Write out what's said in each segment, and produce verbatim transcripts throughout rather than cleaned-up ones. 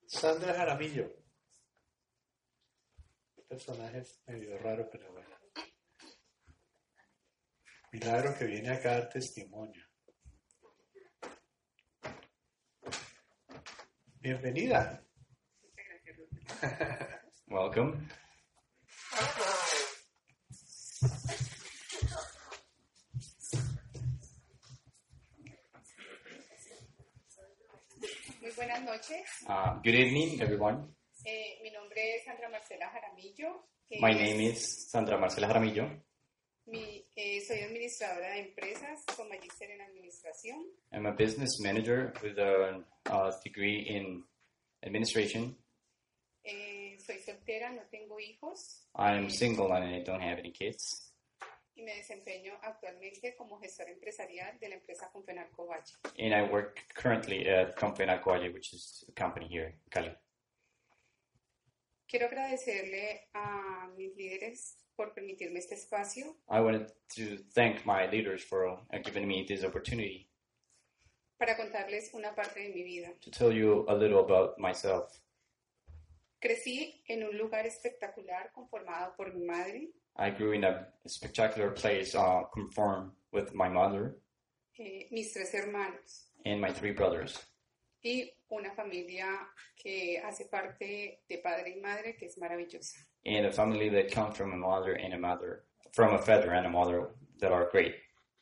Sandra Jaramillo. Un personaje medio raro, pero bueno. Milagro que viene acá a dar testimonio. Bienvenida. Welcome. Muy buenas noches. Uh, good evening, everyone. Eh, mi nombre es Sandra Marcela Jaramillo. Eh, My name is Sandra Marcela Jaramillo. Mi, eh, soy administradora de empresas con magíster en administración. I'm a business manager with a, a degree in administration. Eh, soy soltera, no tengo hijos. I'm single and I don't have any kids. Y me desempeño actualmente como gestora empresarial de la empresa Confenalco Valle. And I work currently at Confenalco Valle, which is a company here in Cali. Quiero agradecerle a mis líderes por permitirme este espacio I wanted to thank my leaders for uh, giving me this opportunity para contarles una parte de mi vida. to tell you a little about myself. Crecí en un lugar espectacular conformado por mi madre, I grew in a spectacular place uh, conformed with my mother eh, mis tres hermanos and my three brothers, y una familia que hace parte de padre y madre que es maravillosa. and a family that comes from a mother and a mother, from a father and a mother that are great.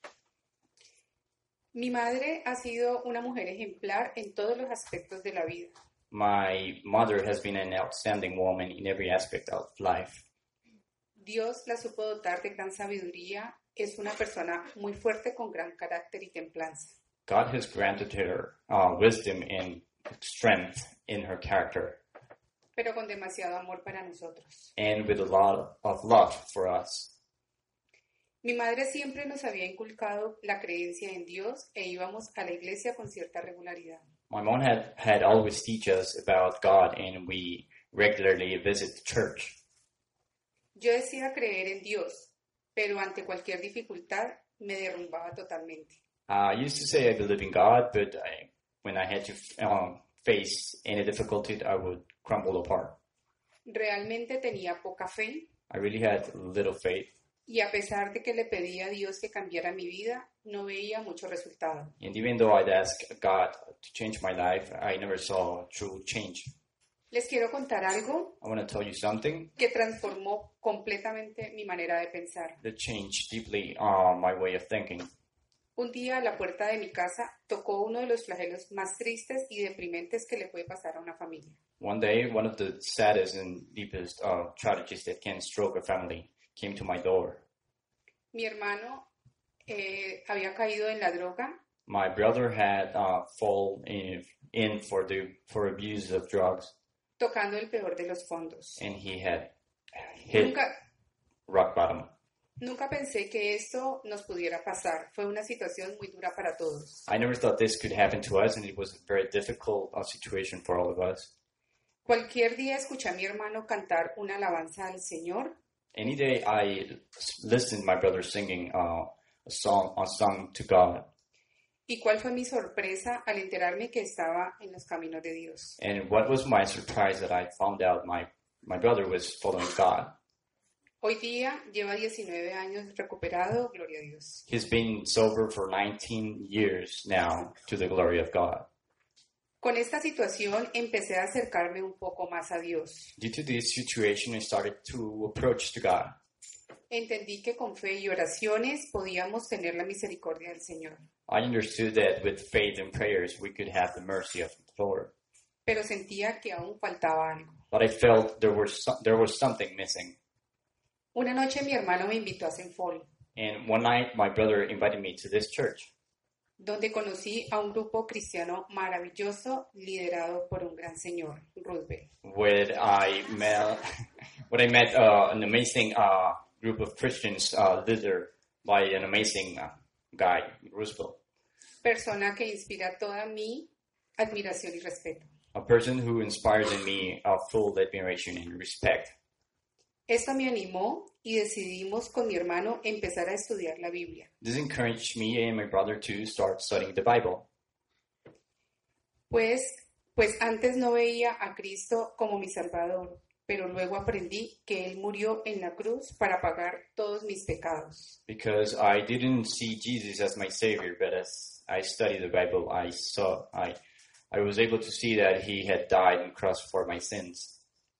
Mi madre ha sido una mujer ejemplar en todos los aspectos de la vida. My mother has been an outstanding woman in every aspect of life. Dios la supo dotar de gran sabiduría, es una persona muy fuerte con gran carácter y templanza. God has granted her uh, wisdom and strength in her character, Pero con demasiado amor para nosotros. and with a lot of love for us. Mi madre siempre nos había inculcado la creencia en Dios e íbamos a la iglesia con cierta regularidad. My mom had, had always teach us about God, and we regularly visit the church. Yo decía creer en Dios, pero ante cualquier dificultad me derrumbaba totalmente. I used to say I believe in God, but I, when I had to um, face any difficulty, I would crumble apart. Realmente tenía poca fe I really had little faith, y a pesar de que le pedía a Dios que cambiara mi vida, no veía mucho resultado. and even though I'd ask God to change my life, I never saw true change. Les quiero contar algo I want to tell you something que transformó completamente mi manera de pensar. that changed deeply uh, my way of thinking. Un día a la puerta de mi casa tocó uno de los flagelos más tristes y deprimentes que le puede pasar a una familia. One day, one of the saddest and deepest uh, tragedies that can stroke a family came to my door. Mi hermano eh, había caído en la droga My brother had uh, fallen in, in for the for abuse of drugs, tocando el peor de los fondos. and he had hit Nunca, rock bottom. nunca pensé que esto nos pudiera pasar. Fue una situación muy dura para todos. I never thought this could happen to us, and it was a very difficult uh, situation for all of us. Cualquier día escuché a mi hermano cantar una alabanza al Señor Any day I listened my brother singing uh, a song, a song to God, y cuál fue mi sorpresa al enterarme que estaba en los caminos de Dios. and what was my surprise that I found out my my brother was following God. Hoy día lleva diecinueve años recuperado, gloria a Dios. He's been sober for nineteen years now, to the glory of God. Con esta situación empecé a acercarme un poco más a Dios. Due to this situation, I started to approach to God. Entendí que con fe y oraciones podíamos tener la misericordia del Señor. I understood that with faith and prayers, we could have the mercy of the Lord. Pero sentía que aún faltaba algo. But I felt there was some, there was something missing. Una noche mi hermano me invitó a Senfol, And one night, my brother invited me to this church, donde conocí a un grupo cristiano maravilloso liderado por un gran señor, Roosevelt. where I met, where I met uh, an amazing uh, group of Christians uh, leader by an amazing uh, guy, Roosevelt, Persona que inspira toda mi admiración y respeto. a person who inspires in me uh, full admiration and respect. Esto me animó y decidimos con mi hermano empezar a estudiar la Biblia. This encouraged me and my brother to start studying the Bible. Pues Pues antes no veía a Cristo como mi Salvador, pero luego aprendí que Él murió en la cruz para pagar todos mis pecados. Because I didn't see Jesus as my Savior, but as I studied the Bible, I saw I I was able to see that He had died on the cross for my sins.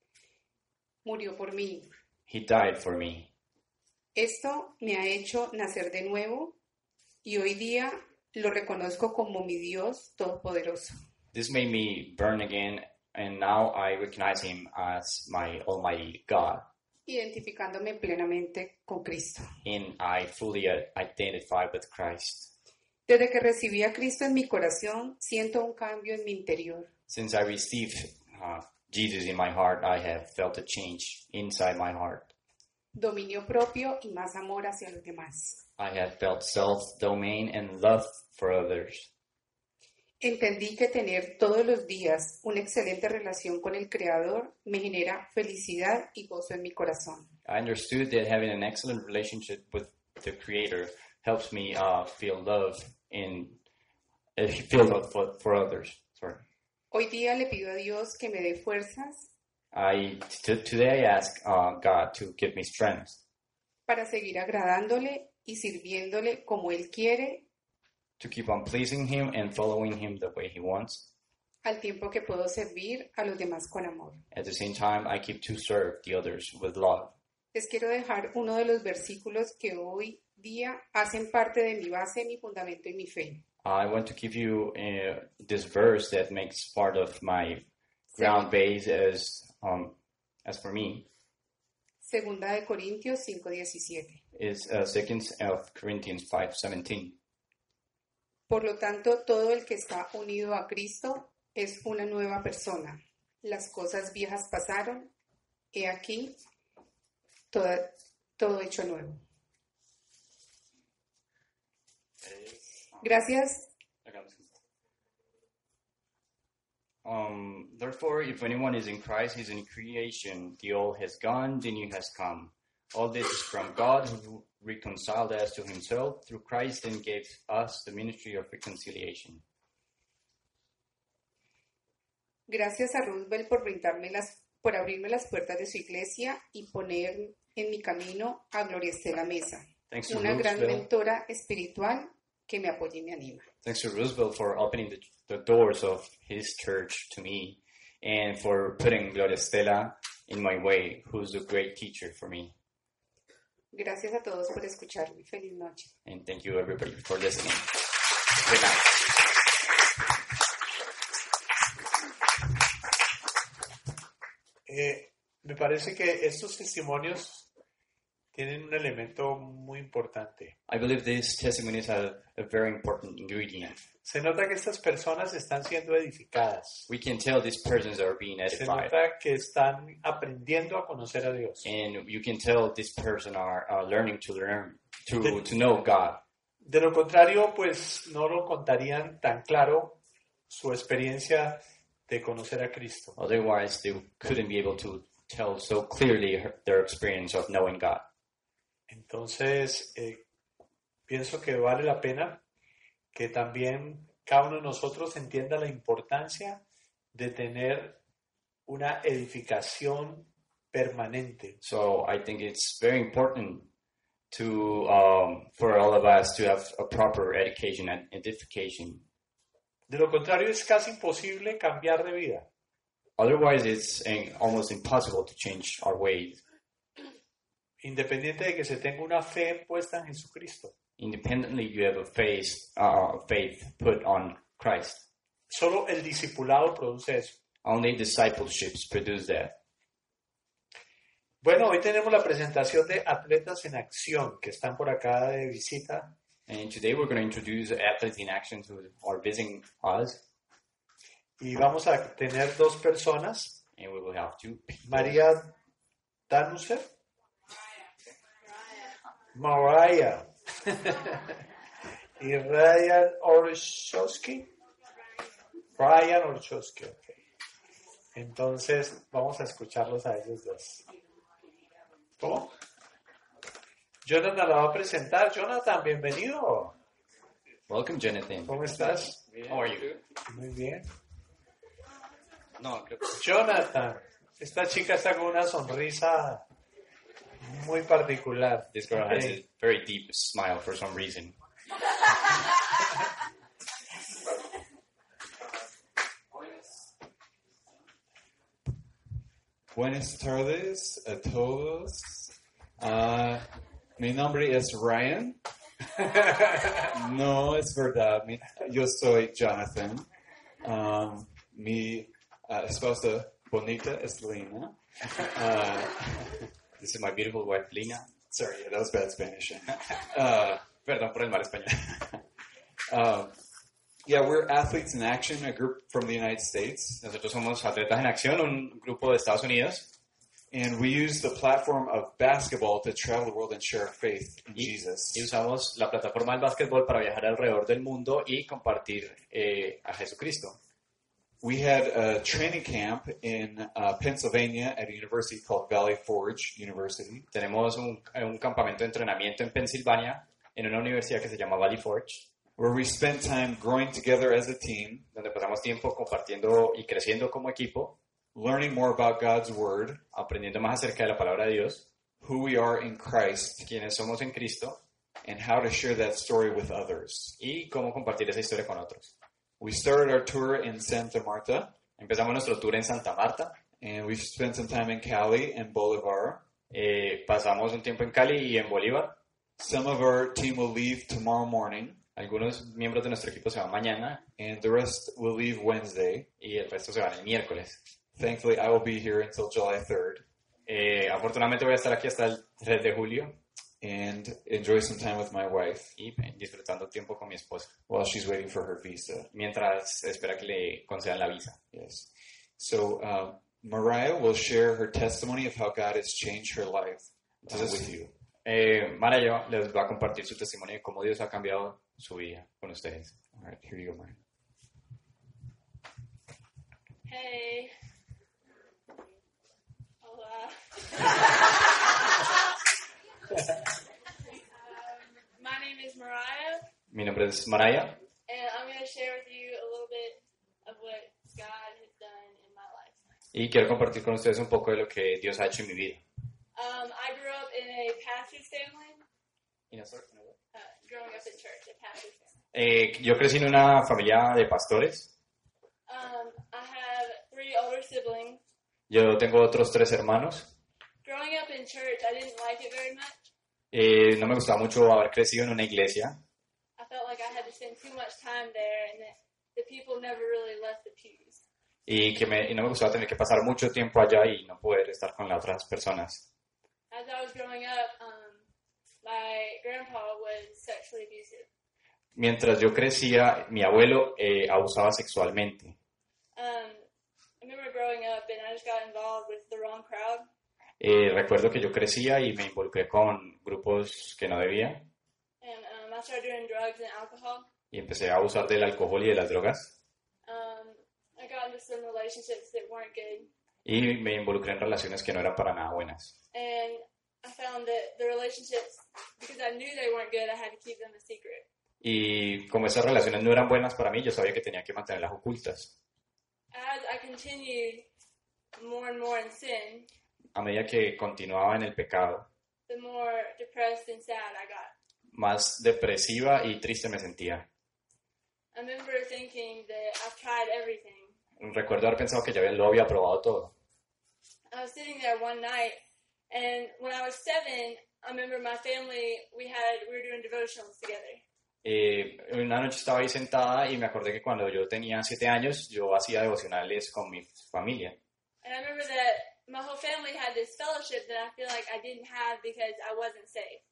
Murió por mí. He died for me. Esto me ha hecho nacer de nuevo y hoy día lo reconozco como mi Dios todopoderoso. This made me born again, and now I recognize Him as my Almighty God, Identificándome plenamente con Cristo. and I fully uh, identify with Christ. Desde que recibí a Cristo en mi corazón, siento un cambio en mi interior. Since I received uh, Jesus in my heart, I have felt a change inside my heart. Dominio propio y más amor hacia los demás. I have felt self-domain and love for others. Entendí que tener todos los días una excelente relación con el Creador me genera felicidad y gozo en mi corazón. I understood that having an excellent relationship with the Creator helps me uh, feel love and uh, feel love for, for others. Sorry. Hoy día le pido a Dios que me dé fuerzas I t- today I ask uh, God to give me strength para seguir agradándole y sirviéndole como Él quiere, to keep on pleasing Him and following Him the way He wants. al tiempo que puedo servir a los demás con amor. At the same time, I keep to serve the others with love. Les quiero dejar uno de los versículos que hoy día hacen parte de mi base, mi fundamento y mi fe. I want to give you uh, this verse that makes part of my ground base as um, as for me Segunda de Corintios cinco diecisiete. is uh, Second of Corinthians five seventeen. Por lo tanto, todo el que está unido a Cristo es una nueva persona. Las cosas viejas pasaron, he aquí, toda- todo hecho nuevo. Gracias. Um, therefore, if anyone is in Christ, he's a new creation. The old has gone, the new has come. All this is from God, who reconciled us to Himself through Christ and gave us the ministry of reconciliation. Gracias a Roosevelt por brindarme las, por abrirme las puertas de su iglesia y poner en mi camino a Gloria Estela Mesa, Thanks to una gran Roosevelt. mentora espiritual que me apoya y me anima. Thanks to Roosevelt for opening the, the doors of his church to me and for putting Gloria Estela in my way, who's a great teacher for me. Gracias a todos por escucharme. Feliz noche. And thank you, everybody, for listening. Good night. Eh, me parece que estos testimonios tienen un elemento muy importante. I believe these testimonies are a very important ingredient. Se nota que estas personas están siendo edificadas. We can tell these persons are being Se edified. nota que están aprendiendo a conocer a Dios. And you can tell this person are uh, learning to learn, to, to know God. De lo contrario, pues no lo contarían tan claro su experiencia de conocer a Cristo. Otherwise, they couldn't be able to tell so clearly her, their experience of knowing God. Entonces, eh, pienso que vale la pena que también cada uno de nosotros entienda la importancia de tener una edificación permanente. So I think it's very important to um, for all of us to have a proper education and edification. De lo contrario, es casi imposible cambiar de vida. Otherwise, it's uh, almost impossible to change our ways, Independiente de que se tenga una fe puesta en Jesucristo. independently. You have a faith, uh, faith put on Christ. Solo el discipulado produce eso. Only discipleships produce that. Bueno, hoy tenemos la presentación de Atletas en Acción, que están por acá de visita. And today we're going to introduce athletes in action who are visiting us, Y vamos a tener dos personas, and we will have two people. María Danuser, Mariah y Ryan Orchowski. Ryan Orchowski, ok. Entonces vamos a escucharlos a ellos dos. ¿Cómo? Jonathan la va a presentar. Jonathan, bienvenido. Welcome, Jonathan. ¿Cómo estás? How are you? Muy bien. No, creo que... Jonathan. Esta chica está con una sonrisa muy particular. This girl has a very deep smile for some reason. Buenas tardes a todos. Uh, mi nombre es Ryan. No, es verdad. Mi, yo soy Jonathan. Um, mi uh, esposa bonita es Lena. Uh, This is my beautiful wife, Lina. sorry, yeah, that was bad Spanish. Uh, Perdón por el mal español. uh, yeah, we're Athletes in Action, a group from the United States. Nosotros somos Atletas en Acción, un grupo de Estados Unidos. And we use the platform of basketball to travel the world and share our faith in Y, Jesus. y usamos la plataforma del básquetbol para viajar alrededor del mundo y compartir eh, a Jesucristo. We had a training camp in uh, Pennsylvania at a university called Valley Forge University. Tenemos un, un campamento de entrenamiento en Pensilvania, en una universidad que se llama Valley Forge, where we spent time growing together as a team, donde pasamos tiempo compartiendo y creciendo como equipo, learning more about God's Word, aprendiendo más acerca de la palabra de Dios, who we are in Christ, quiénes somos en Cristo and how to share that story with others. y cómo compartir esa historia con otros. We started our tour in Santa Marta, Empezamos nuestro tour en Santa Marta, and we spent some time in Cali and Bolivar. eh, pasamos un tiempo en Cali y en Bolívar. Some of our team will leave tomorrow morning, Algunos miembros de nuestro equipo se van mañana and the rest will leave Wednesday. y el resto se van el miércoles. Thankfully, I will be here until July third Eh, afortunadamente voy a estar aquí hasta el tres de julio and enjoy some time with my wife y eh, disfrutando tiempo con mi esposa, while she's waiting for her visa. mientras espera que le concedan la visa. Yes. So, uh, Mariah will share her testimony of how God has changed her life uh, Entonces, with you. eh, Mara les va a compartir su testimonio de cómo Dios ha cambiado su vida con ustedes. All right, here you go, Mariah. Hey. Hola. um, my name is Mariah, Mi nombre es Maraya and I'm going to share with you a little bit of what God has done in my life. y quiero compartir con ustedes un poco de lo que Dios ha hecho en mi vida. Um, I grew up in a pastor's family, uh, growing up in church, a pastor's family. Eh, yo crecí en una familia de pastores. Um, I have three older siblings. Yo tengo otros tres hermanos. Growing up in church, I didn't like it very much. Eh, no me gustaba mucho haber crecido en una iglesia. I felt like I had to spend too much time there and that the people never really left the pews. Y que me, y no me gustaba tener que pasar mucho tiempo allá y no poder estar con las otras personas. As I was growing up, um, my grandpa was sexually abusive. Mientras yo crecía, mi abuelo eh, abusaba sexualmente. Um, I remember growing up and I just got involved with the wrong crowd. Eh, recuerdo que yo crecía y me involucré con grupos que no debía And um, I started doing drugs and alcohol. y empecé a abusar del alcohol y de las drogas. Um, I got into some relationships that weren't good. Y me involucré en relaciones que no eran para nada buenas. And I found that the relationships, because I knew they weren't good, I had to keep them a secret. Y como esas relaciones no eran buenas para mí, yo sabía que tenía que mantenerlas ocultas. As I continued more and more in sin, A medida que continuaba en el pecado, the more depressed and sad I got. más depresiva y triste me sentía. I remember thinking that I've tried everything. Recuerdo haber pensado que ya lo había probado todo. I was sitting there one night, and when I was seven, I remember my family, we had, we were doing devotionals together. Eh, una noche estaba ahí sentada y me acordé que cuando yo tenía siete años yo hacía devocionales con mi familia. And I remember that my whole family had this fellowship that I feel like I didn't have because I wasn't safe.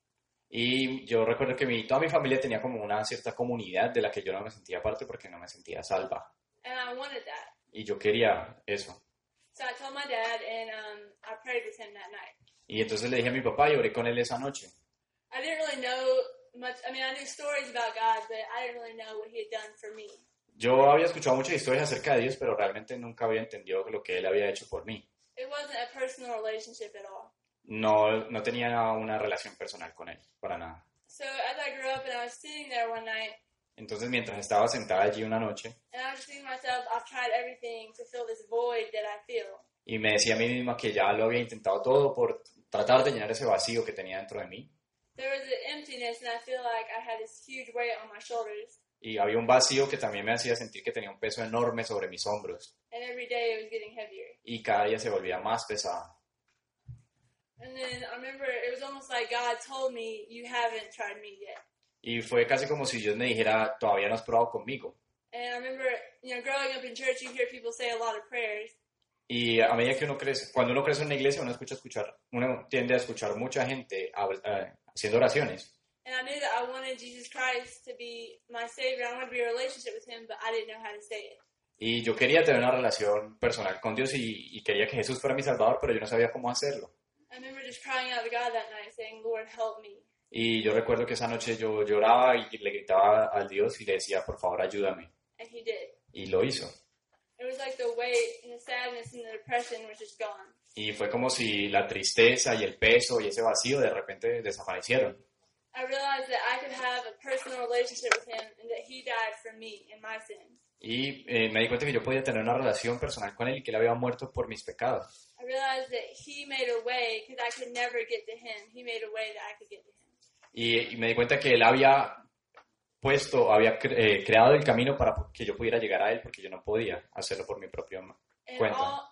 Y yo recuerdo que mi, toda mi familia tenía como una cierta comunidad de la que yo no me sentía parte porque no me sentía salva. And I wanted that. Y yo quería eso. So I told my dad, and um, I prayed with him that night. Y entonces le dije a mi papá y oré con él esa noche. I didn't really know much. I mean, I knew stories about God, but I didn't really know what he had done for me. Yo había escuchado muchas historias acerca de Dios, pero realmente nunca había entendido lo que él había hecho por mí. It wasn't a personal relationship at all. No, no tenía una relación personal con él, para nada. So as I grew up and I was sitting there one night, Entonces, mientras estaba sentada allí una noche, and I was just thinking to myself, I've tried everything to fill this void that I feel. y me decía a mí misma que ya lo había intentado todo por tratar de llenar ese vacío que tenía dentro de mí, There was an emptiness, and I feel like I had this huge weight on my shoulders, y había un vacío que también me hacía sentir que tenía un peso enorme sobre mis hombros, and every day it was getting heavier. y cada día se volvía más pesada. And then I remember it was almost like God told me, you haven't tried me yet. Y fue casi como si Dios me dijera, todavía no has probado conmigo. And I remember, you know, growing up in church, you hear people say a lot of prayers. Y a medida que uno crece, cuando uno crece en una iglesia, uno escucha escuchar, uno tiende a escuchar mucha gente habl- eh, haciendo oraciones. And I knew that I wanted Jesus Christ to be my Savior. I wanted to be in a relationship with Him, but I didn't know how to say it. Y yo quería tener una relación personal con Dios y, y quería que Jesús fuera mi Salvador, pero yo no sabía cómo hacerlo. I remember just crying out to God that night, saying, Lord, help me. Y yo recuerdo que esa noche yo lloraba y le gritaba al Dios y le decía, por favor, ayúdame. And He did. Y lo hizo. It was like the weight and the sadness and the depression was just gone. Y fue como si la tristeza y el peso y ese vacío de repente desaparecieron. I realized that I could have a personal relationship with Him and that He died for me and my sins. Y eh, me di cuenta que yo podía tener una relación personal con Él y que Él había muerto por mis pecados. I realized that He made a way because I could never get to Him. He made a way that I could get to Him. Y, y me di cuenta que Él había puesto, había cre- eh, creado el camino para que yo pudiera llegar a Él porque yo no podía hacerlo por mi propia ma- And cuenta. all,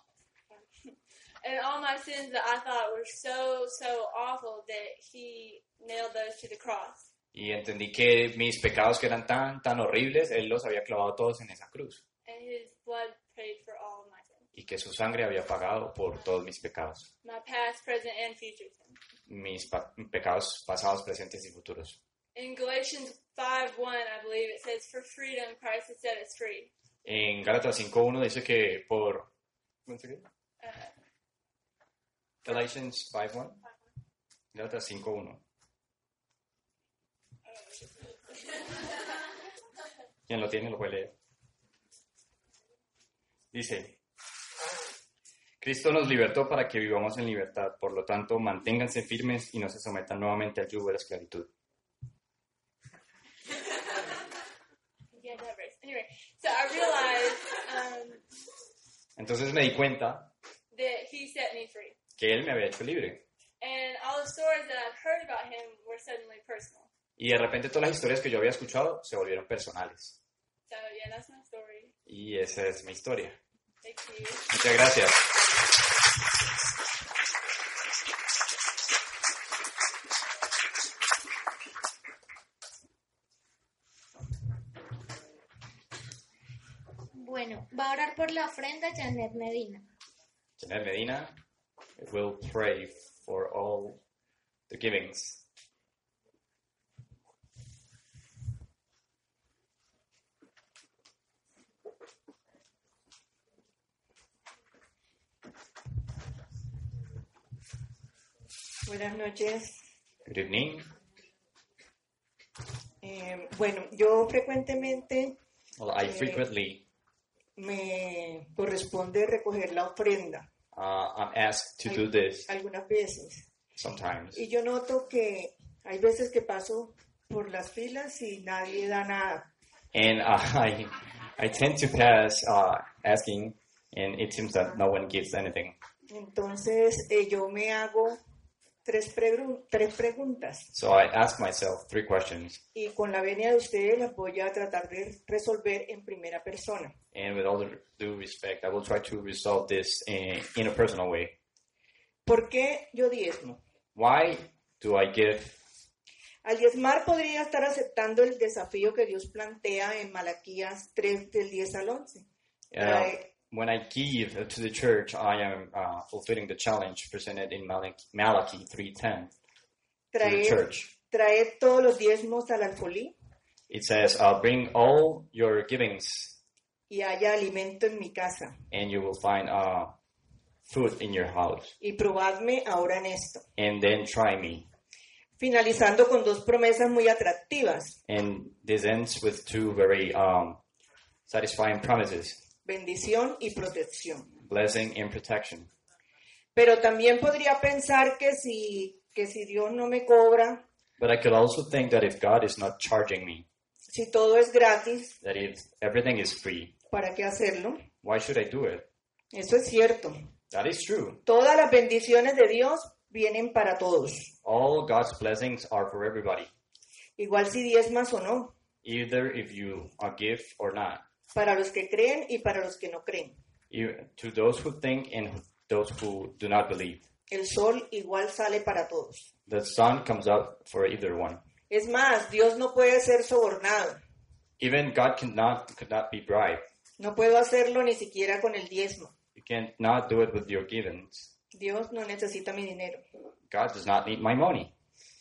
and all my sins that I thought were so, so awful that He nailed those to the cross. Y entendí que mis pecados que eran tan, tan horribles, Él los había clavado todos en esa cruz. And His blood paid for all of my sins. Y que su sangre había pagado por todos mis pecados. My past, present, and future sins. Mis pa- pecados pasados, presentes y futuros. In Galatians five one, I believe, it says, for freedom, Christ has set us free. En Gálatas cinco uno dice que por... ¿cómo se dice? Uh, Galatians cinco uno. Gálatas cinco uno. Quien lo tiene lo puede leer. Dice, Cristo nos libertó para que vivamos en libertad, por lo tanto, manténganse firmes y no se sometan nuevamente al yugo de la esclavitud. yeah, that verse. Anyway, so I realized um, Entonces me di cuenta that He set me free. que Él me había hecho libre. And all the stories that I've heard about Him were suddenly personal. Y de repente todas las historias que yo había escuchado se volvieron personales. So, yeah, that's my story. Y esa es mi historia. Thank you. Muchas gracias. Bueno, va a orar por la ofrenda Janet Medina. Janet Medina will pray for all the givings. Buenas noches. Good evening. Eh, bueno, yo frecuentemente Well, I Eh, frequently me corresponde recoger la ofrenda, uh, I'm asked to do this algunas veces. sometimes. Y yo noto que hay veces que paso por las filas y nadie da nada. And uh, I, I tend to pass uh, asking, and it seems that no one gives anything. Entonces eh, yo me hago tres, pregu- tres preguntas So I ask myself three questions, y con la venia de ustedes las voy a tratar de resolver en primera persona. and with all the due respect, I will try to resolve this in, in a personal way. ¿Por qué yo diezmo? Why do I give? Al diezmar podría estar aceptando el desafío que Dios plantea en Malaquías tres del diez al once. Uh, Trae- when I give to the church, I am uh, fulfilling the challenge presented in Malachi, Malachi three ten to the Traed, church. traed todos los diezmos al alfolí It says, uh, bring all your givings, y haya alimento en mi casa. and you will find uh, food in your house. Y probadme ahora en esto. And then try me. Finalizando con dos promesas muy atractivas. And this ends with two very um, satisfying promises, Bendición y protección. blessing and protection. Pero también podría pensar que si, que si Dios no me cobra, But I could also think that if God is not charging me, Si todo es gratis, that if everything is free, ¿para qué hacerlo? why should I do it? Eso es cierto. That is true. Todas las bendiciones de Dios vienen para todos, All God's blessings are for everybody, igual si diezmas o no, either if you uh, give or not. para los que creen y para los que no creen. You, to those who think and those who do not believe. El sol igual sale para todos. The sun comes up for either one. Es más, Dios no puede ser sobornado. Even God cannot could not be bribed. No puedo hacerlo ni siquiera con el diezmo. You cannot do it with your givings. Dios no necesita mi dinero. God does not need my money.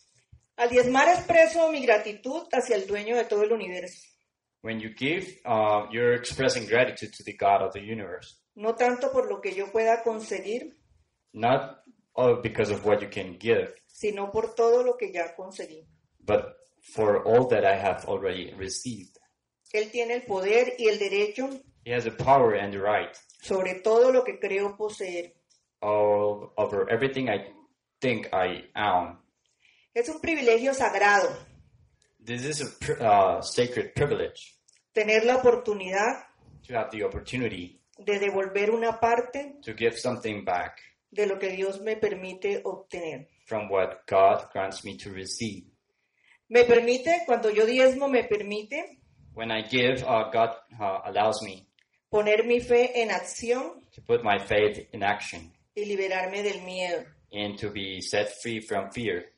Al diezmar expreso mi gratitud hacia el dueño de todo el universo. When you give, uh, you're expressing gratitude to the God of the universe. No tanto por lo que yo pueda conseguir, Not uh, because of what you can give, sino por todo lo que ya conseguí. but for all that I have already received. Él tiene el poder y el derecho He has the power and the right sobre todo lo que creo poseer. all over everything I think I own. Es un privilegio sagrado This is a pr- uh, sacred privilege tener la oportunidad to have the opportunity de devolver una parte to give something back de lo que Dios me permite obtener. from what God grants me to receive. Me permite, cuando yo diezmo, me permite When I give, uh, God uh, allows me poner mi fe en acción to put my faith in action y liberarme del miedo. and to be set free from fear.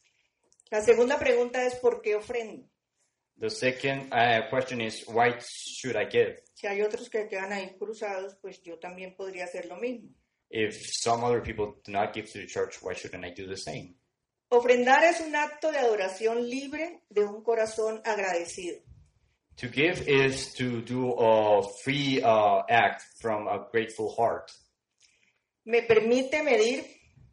La segunda pregunta es ¿por qué ofrendo? The second uh, question is, why should I give? Si hay otros que quedan ahí cruzados, pues yo también podría hacer lo mismo. If some other people do not give to the church, why shouldn't I do the same? Ofrendar es un acto de adoración libre de un corazón agradecido. To give is to do a free uh, act from a grateful heart. Me permite medir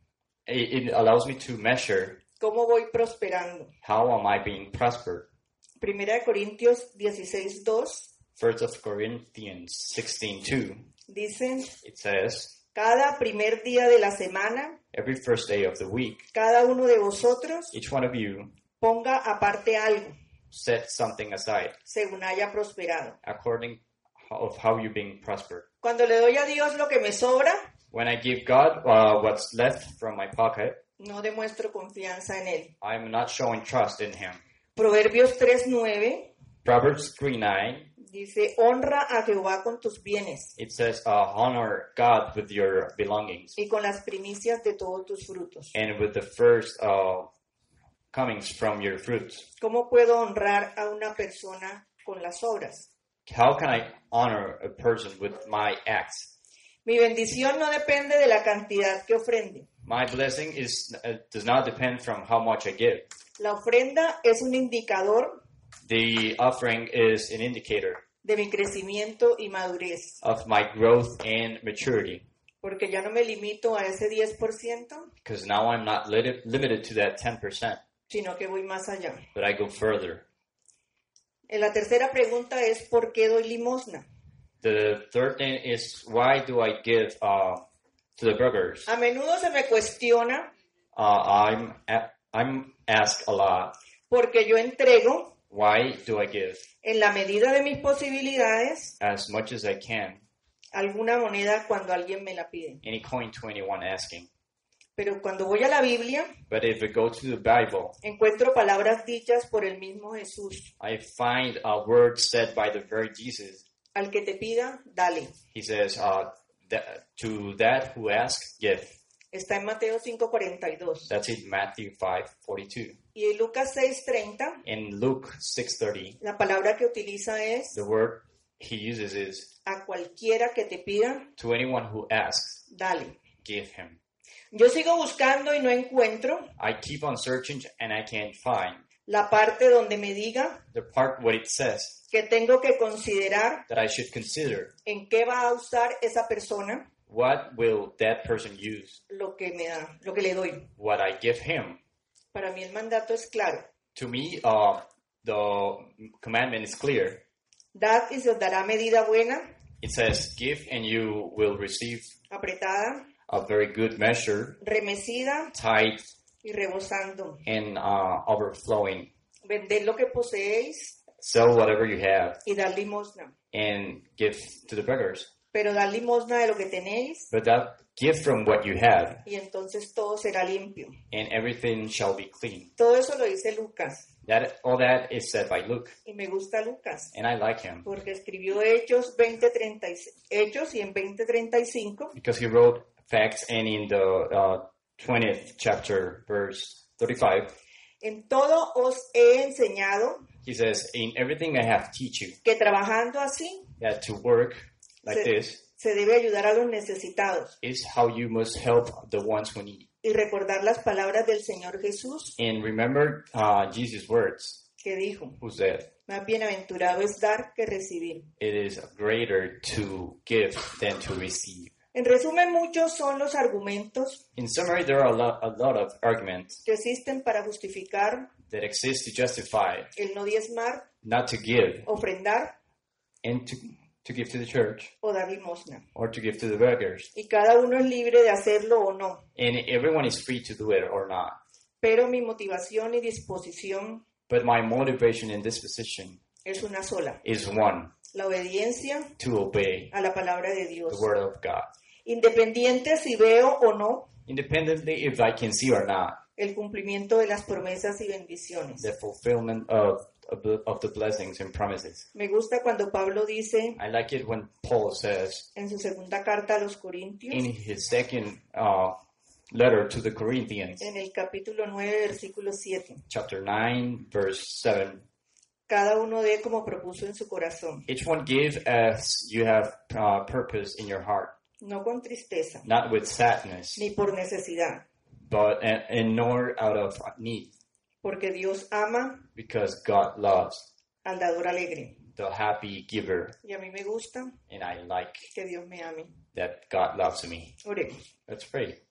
It, it allows me to measure cómo voy prosperando. how am I being prospered. Primera de Corintios dieciséis dos First of Corinthians sixteen two, dice, it says, cada primer día de la semana, every first day of the week, cada uno de vosotros each one of you ponga aparte algo, set something aside según haya prosperado. according of how you're being prospered. Cuando le doy a Dios lo que me sobra, When I give God uh, what's left from my pocket, no demuestro confianza en Él. I'm not showing trust in Him. Proverbios tres nueve Proverbs three nine, dice, honra a Jehová con tus bienes it says, uh, honor God with your belongings y con las primicias de todos tus frutos. and with the first uh, comings from your fruits. ¿Cómo puedo honrar a una persona con las obras? How can I honor a person with my acts? Mi bendición no depende de la cantidad que ofrende. My blessing is uh, does not depend from how much I give. La ofrenda es un indicador The offering is an indicator de mi crecimiento y madurez, of my growth and maturity, porque ya no me limito a ese diez por ciento, because now I'm not lit- limited to that ten percent, sino que voy más allá. but I go further. En la tercera pregunta es ¿por qué doy limosna? The third thing is, why do I give uh, to the beggars? A menudo se me cuestiona Uh, I'm a- I'm asked a lot, porque yo entrego why do I give en la medida de mis posibilidades as much as I can, alguna moneda cuando alguien me la pide. any coin to anyone asking? Pero cuando voy a la Biblia, But if I go to the Bible, encuentro palabras dichas por el mismo Jesús. I find a word said by the very Jesus. Al que te pida, dale. He says, uh, that, to that who asks, give. Está en Mateo cinco cuarenta y dos. That's in Matthew five forty-two. Y en Lucas seis treinta, In Luke six thirty, la palabra que utiliza es the word he uses is, a cualquiera que te pida, to anyone who asks, dale. give him. Yo sigo buscando y no encuentro I keep on searching and I can't find la parte donde me diga the part what it says que tengo que considerar that I should consider. en qué va a usar esa persona What will that person use? lo que me da, lo que le doy. What I give him. Para mí el mandato es claro. To me, uh, the commandment is clear. Dad y se os dará medida buena, It says, give and you will receive apretada, a very good measure, remecida tight y rebosando. and uh, overflowing. Vended lo que poseéis sell whatever you have y dar limosna. and give to the beggars. Pero dar limosna de lo que tenéis But that give from what you have, y entonces todo será limpio. and everything shall be clean. Todo eso lo dice Lucas That all that is said by Luke, y me gusta Lucas and I like him porque escribió Hechos veinte treinta y seis, Hechos y en veinte treinta y cinco because he wrote facts, and in the uh, twentieth chapter, verse thirty-five, en todo os he enseñado he says, "In everything I have teach you que trabajando así that to work like se, this se debe ayudar a los necesitados is how you must help the ones who need." y recordar las palabras del Señor Jesús And remember uh, Jesus' words, que dijo, who said, más bienaventurado es dar que recibir. "It is greater to give than to receive." En resumen, muchos son los argumentos In summary, there are a lot, a lot of arguments que existen para justificar that exist to justify el no diezmar, not to give ofrendar and to, to give to the church o dar limosna. or to give to the beggars. Y cada uno es libre de hacerlo o no. And everyone is free to do it or not. Pero mi motivación y disposición But my motivation and disposition es una sola. is one, La obediencia to obey a la palabra de the Dios. word of God. Independiente si veo o no Independently if I can see or not, el cumplimiento de las promesas y bendiciones. the fulfillment of, of, the, of the blessings and promises. Me gusta cuando Pablo dice I like it when Paul says en su segunda carta a los Corintios, in his second uh, letter to the Corinthians, en el capítulo nueve, versículo siete, chapter nine, verse seven, cada uno dé como propuso en su corazón, each one give as you have uh, purpose in your heart, no con tristeza, not with sadness, ni por necesidad, but and, and nor out of need, porque Dios ama because God loves al dador alegre. the happy giver, Y a mí me gusta and I like que Dios me ame. that God loves me. Oremos. Let's pray.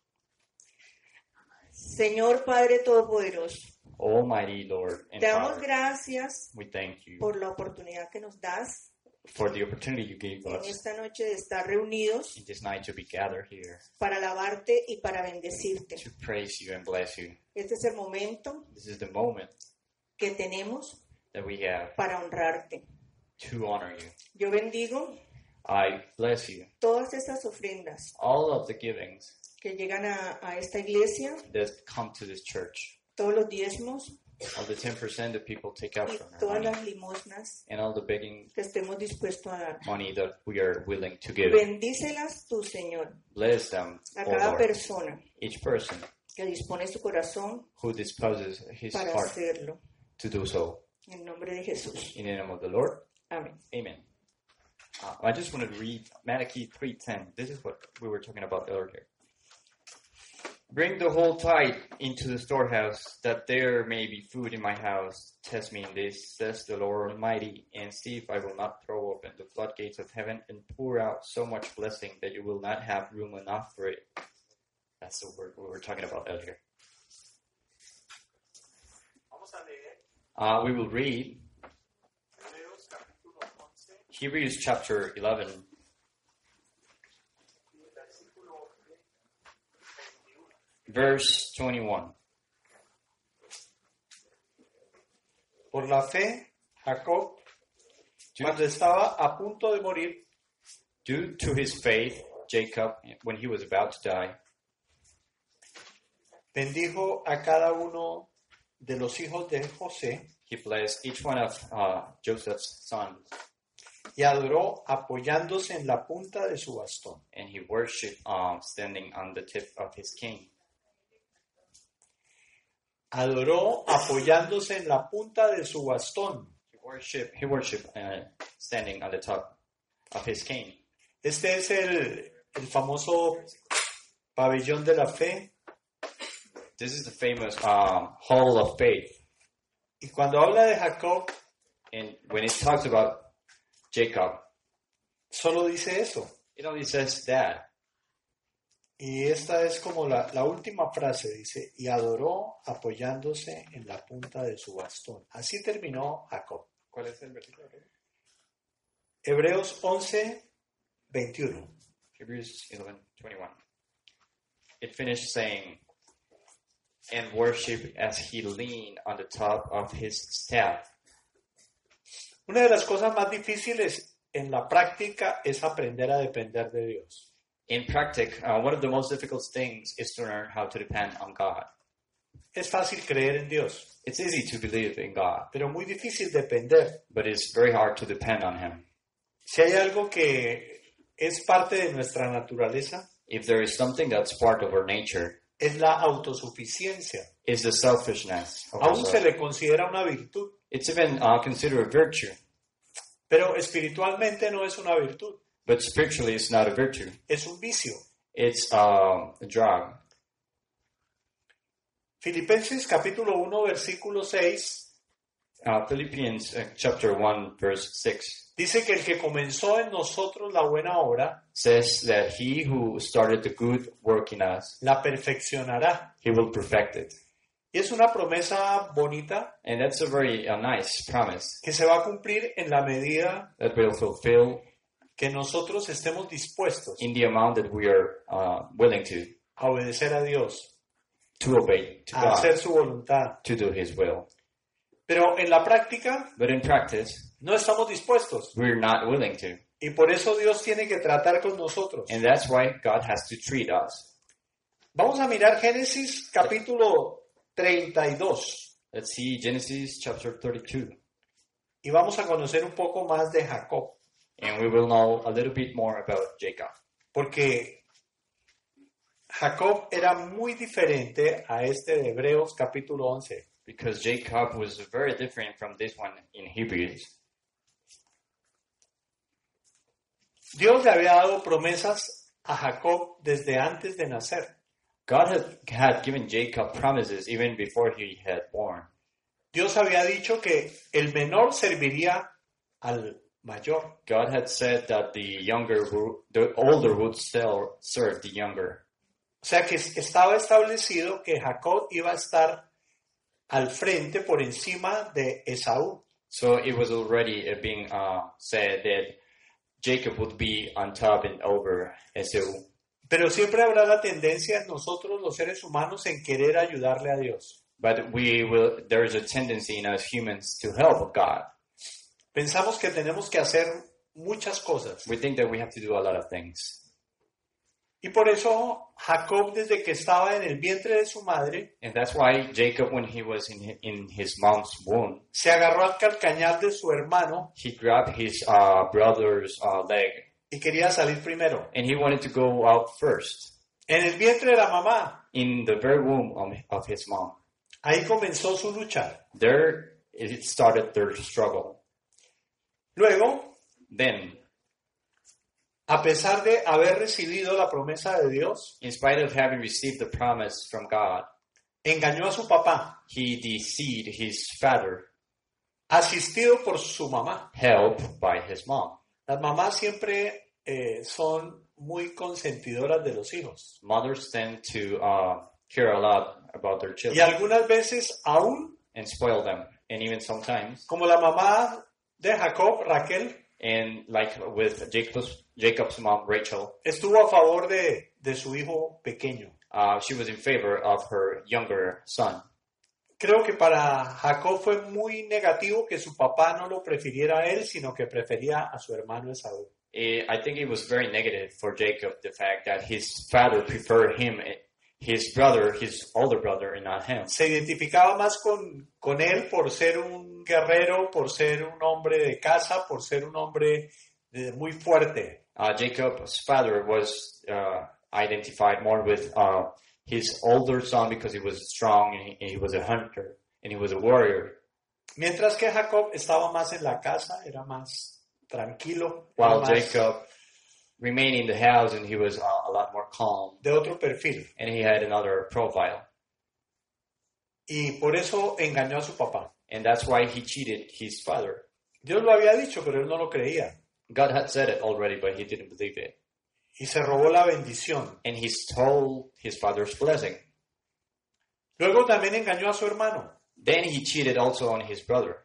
Señor Padre Todopoderoso, Almighty Lord and te damos Father, gracias we thank you por la oportunidad que nos das for the opportunity you gave en us esta noche de estar reunidos in this night to be gathered here para alabarte y para bendecirte. to praise you and bless you. Este es el momento This is the moment que tenemos that we have para honrarte. to honor you. Yo bendigo I bless you. todas estas ofrendas All of the givings que llegan a, a esta iglesia, that come to this church, todos los diezmos all the ten percent that people take out y from our todas money, las limosnas and all the begging que estemos dispuestos a dar. money that we are willing to give. Bendícelas tú, Señor, Bless them, a O cada Lord, persona each person que dispone su corazón who disposes his para heart hacerlo. to do so. En nombre de Jesús. In the name of the Lord, Amén. amen. Uh, I just want to read Malachi three ten. This is what we were talking about earlier. Bring the whole tithe into the storehouse, that there may be food in my house. Test me in this, says the Lord Almighty, and see if I will not throw open the floodgates of heaven and pour out so much blessing that you will not have room enough for it. That's the word we were talking about earlier. Uh, we will read Hebrews chapter eleven, verse twenty-one. Por la fe, Jacob, cuando estaba a punto de morir, Due to his faith, Jacob, when he was about to die, bendijo a cada uno de los hijos de José he blessed each one of uh, Joseph's sons, y adoró apoyándose en la punta de su bastón. and he worshipped um, standing on the tip of his cane. Adoró apoyándose en la punta de su bastón. He worshipped, he worshipped uh, standing on the top of his cane. Este es el, el famoso pabellón de la fe. This is the famous um, Hall of Faith. Y cuando habla de Jacob, And when it talks about Jacob, solo dice eso. it only says that. Y esta es como la, la última frase, dice, y adoró apoyándose en la punta de su bastón. Así terminó Jacob. ¿Cuál es el versículo? Hebreos once, veintiuno. Hebrews eleven twenty-one. It finished saying, and worship as he leaned on the top of his staff. Una de las cosas más difíciles en la práctica es aprender a depender de Dios. In practice, uh, one of the most difficult things is to learn how to depend on God. Es fácil creer en Dios, It's easy to believe in God, pero muy difícil depender. but it's very hard to depend on Him. Si hay algo que es parte de nuestra naturaleza, If there is something that's part of our nature, es la autosuficiencia. it's the selfishness of Aún se ourselves. le considera una virtud, It's even uh, considered a virtue, pero espiritualmente no es una virtud, but spiritually it's not a virtue. es un vicio. It's uh, a drug. Filipenses capítulo uno, versículo seis, Uh, Philippians uh, chapter one, verse six dice que el que comenzó en nosotros la buena obra, says that he who started the good work in us, la perfeccionará. he will perfect it. Y es una promesa bonita And that's a very uh, nice promise que se va a cumplir en la medida that will fulfill que nosotros estemos dispuestos in the amount that we are uh, willing to, a obedecer a Dios, to obey to a God, hacer su voluntad. to do His will. Pero en la práctica But in practice, no estamos dispuestos we're not willing to. y por eso Dios tiene que tratar con nosotros. And that's why God has to treat us. Vamos a mirar Génesis capítulo treinta y dos Let's see Genesis chapter thirty-two. y vamos a conocer un poco más de Jacob, And we will know a little bit more about Jacob. porque Jacob era muy diferente a este de Hebreos capítulo once. Because Jacob was very different from this one in Hebrews. Dios le había dado promesas a Jacob desde antes de nacer. God had, had given Jacob promises even before he had born. Dios había dicho que el menor serviría al mayor. God had said that the younger, wo- the older would still serve the younger. O sea que estaba establecido que Jacob iba a estar al frente por encima de Esaú. So it was already uh, being uh, said that Jacob would be on top and over Esau. Pero siempre habrá la tendencia en nosotros los seres humanos en querer ayudarle a Dios. But we will. There is a tendency in us humans to help God. Pensamos que tenemos que hacer muchas cosas. We think that we have to do a lot of things. Y por eso Jacob, desde que estaba en el vientre de su madre, And that's why Jacob, when he was in his, in his mom's womb, se agarró al calcañar de su hermano he grabbed his uh, brother's uh, leg y quería salir primero. and he wanted to go out first En el vientre de la mamá, in the very womb of, of his mom. ahí comenzó su lucha. There it started their struggle. Luego, Then, a pesar de haber recibido la promesa de Dios, in spite of having received the promise from God, engañó a su papá, he deceived his father, asistido por su mamá. helped by his mom. Las mamás siempre eh, son muy consentidoras de los hijos. Mothers tend to uh, care a lot about their Y children algunas veces, aún and spoil them. And even sometimes, como la mamá de Jacob, Raquel, and like with Jacob's, Jacob's mom, Rachel, estuvo a favor de, de su hijo pequeño. uh, she was in favor of her younger son. Creo que para Jacob fue muy negativo que su papá no lo prefiriera a él, sino que prefería a su hermano Esaú. Eh, I think it was very negative for Jacob, the fact that his father preferred him, his brother, his older brother, and not him. Se identificaba más con, con él por ser un guerrero, por ser un hombre de casa, por ser un hombre de- muy fuerte. Uh, Jacob's father was uh, identified more with uh, his older son because he was strong and he, and he was a hunter and he was a warrior. Mientras que Jacob estaba más en la casa, era más tranquilo, era While más Jacob remained in the house and he was uh, a lot more calm de otro perfil. and he had another profile. Y por eso engañó a su papá. And that's why he cheated his father. Dios lo había dicho, pero él no lo creía. God had said it already, but he didn't believe it. Y se robó la bendición. And he stole his father's blessing. Luego también engañó a su hermano. Then he cheated also on his brother.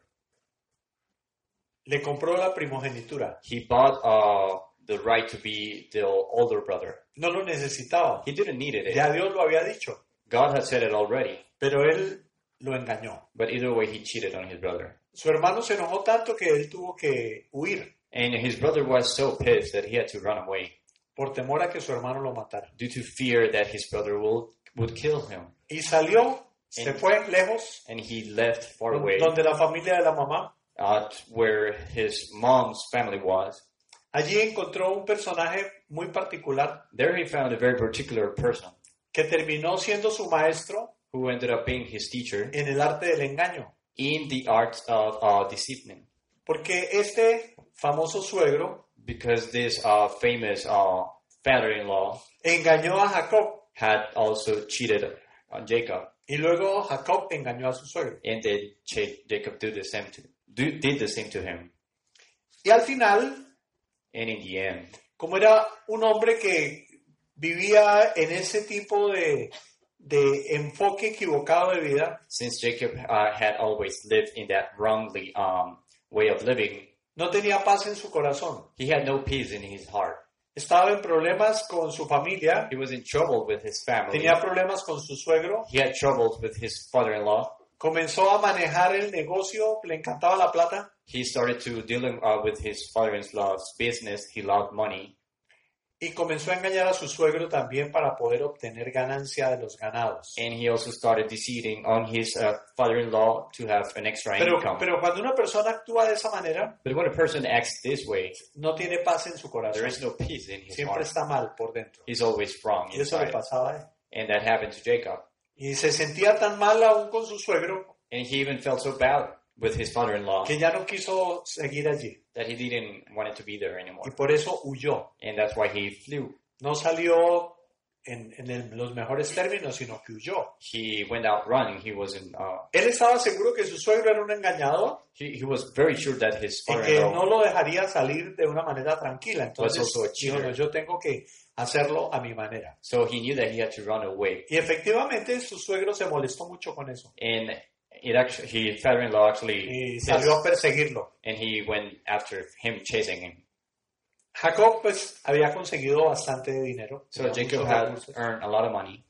Le compró la primogenitura. He bought uh, the right to be the older brother. No lo necesitaba. He didn't need it. Ya Dios lo había dicho. God had said it already. Pero él lo engañó. But either way, he cheated on his brother. Su hermano se enojó tanto que él tuvo que huir And his brother was so pissed that he had to run away por temor a que su hermano lo matara. due to fear that his brother will, would kill him. Y salió, se And- fue lejos, And he left far away, donde la familia de la mamá. uh, where his mom's family was. Allí encontró un personaje muy particular There he found a very particular person que terminó siendo su maestro who ended up being his teacher en el arte del engaño. in the art of uh, deceiving. Porque este famoso suegro Because this uh, famous uh, father-in-law engañó a Jacob had also cheated on Jacob, y luego Jacob engañó a su suegro. and then Ja- Jacob did the same to do, did the same to him. Y al final, And in the end, como era un hombre que vivía en ese tipo de, de enfoque equivocado de vida, since Jacob uh, had always lived in that wrongly um, way of living, no tenía paz en su corazón. he had no peace in his heart. Estaba en problemas con su familia, He was in trouble with his family. tenía problemas con su suegro, He had troubles with his father-in-law. comenzó a manejar el negocio, le encantaba la plata, He started to dealing uh, with his father-in-law's business. He loved money. y comenzó a engañar a su suegro también para poder obtener ganancia de los ganados. And he also started deceiving on his uh, father-in-law to have an extra Pero, income. pero cuando una persona actúa de esa manera, But when a person acts this way, no tiene paz en su there corazón. is no peace in his Siempre heart. está mal por dentro. He's always wrong Y eso le inside. pasaba a él. And that happened to Jacob. Y se sentía tan mal aún con su suegro And he even felt so bad with his father-in-law que ya no quiso seguir allí. that he didn't want it to be there anymore. Y por eso huyó. And that's why he flew. No salió en, en el- los mejores términos, sino que huyó. He went out running. He wasn't. Uh, Él estaba seguro que su suegro era un engañador he, he was very sure that his y que father-in-law no lo dejaría salir de una manera tranquila. Entonces Was also a dijo, cheater. no, yo tengo que hacerlo a mi manera. So he knew that he had to run away. Y efectivamente su suegro se molestó mucho con eso And it actually, his father-in-law actually, y salió a perseguirlo. and he went after him, chasing him. Jacob pues había conseguido bastante dinero. So tenía Jacob muchos had recursos. earned a lot of money,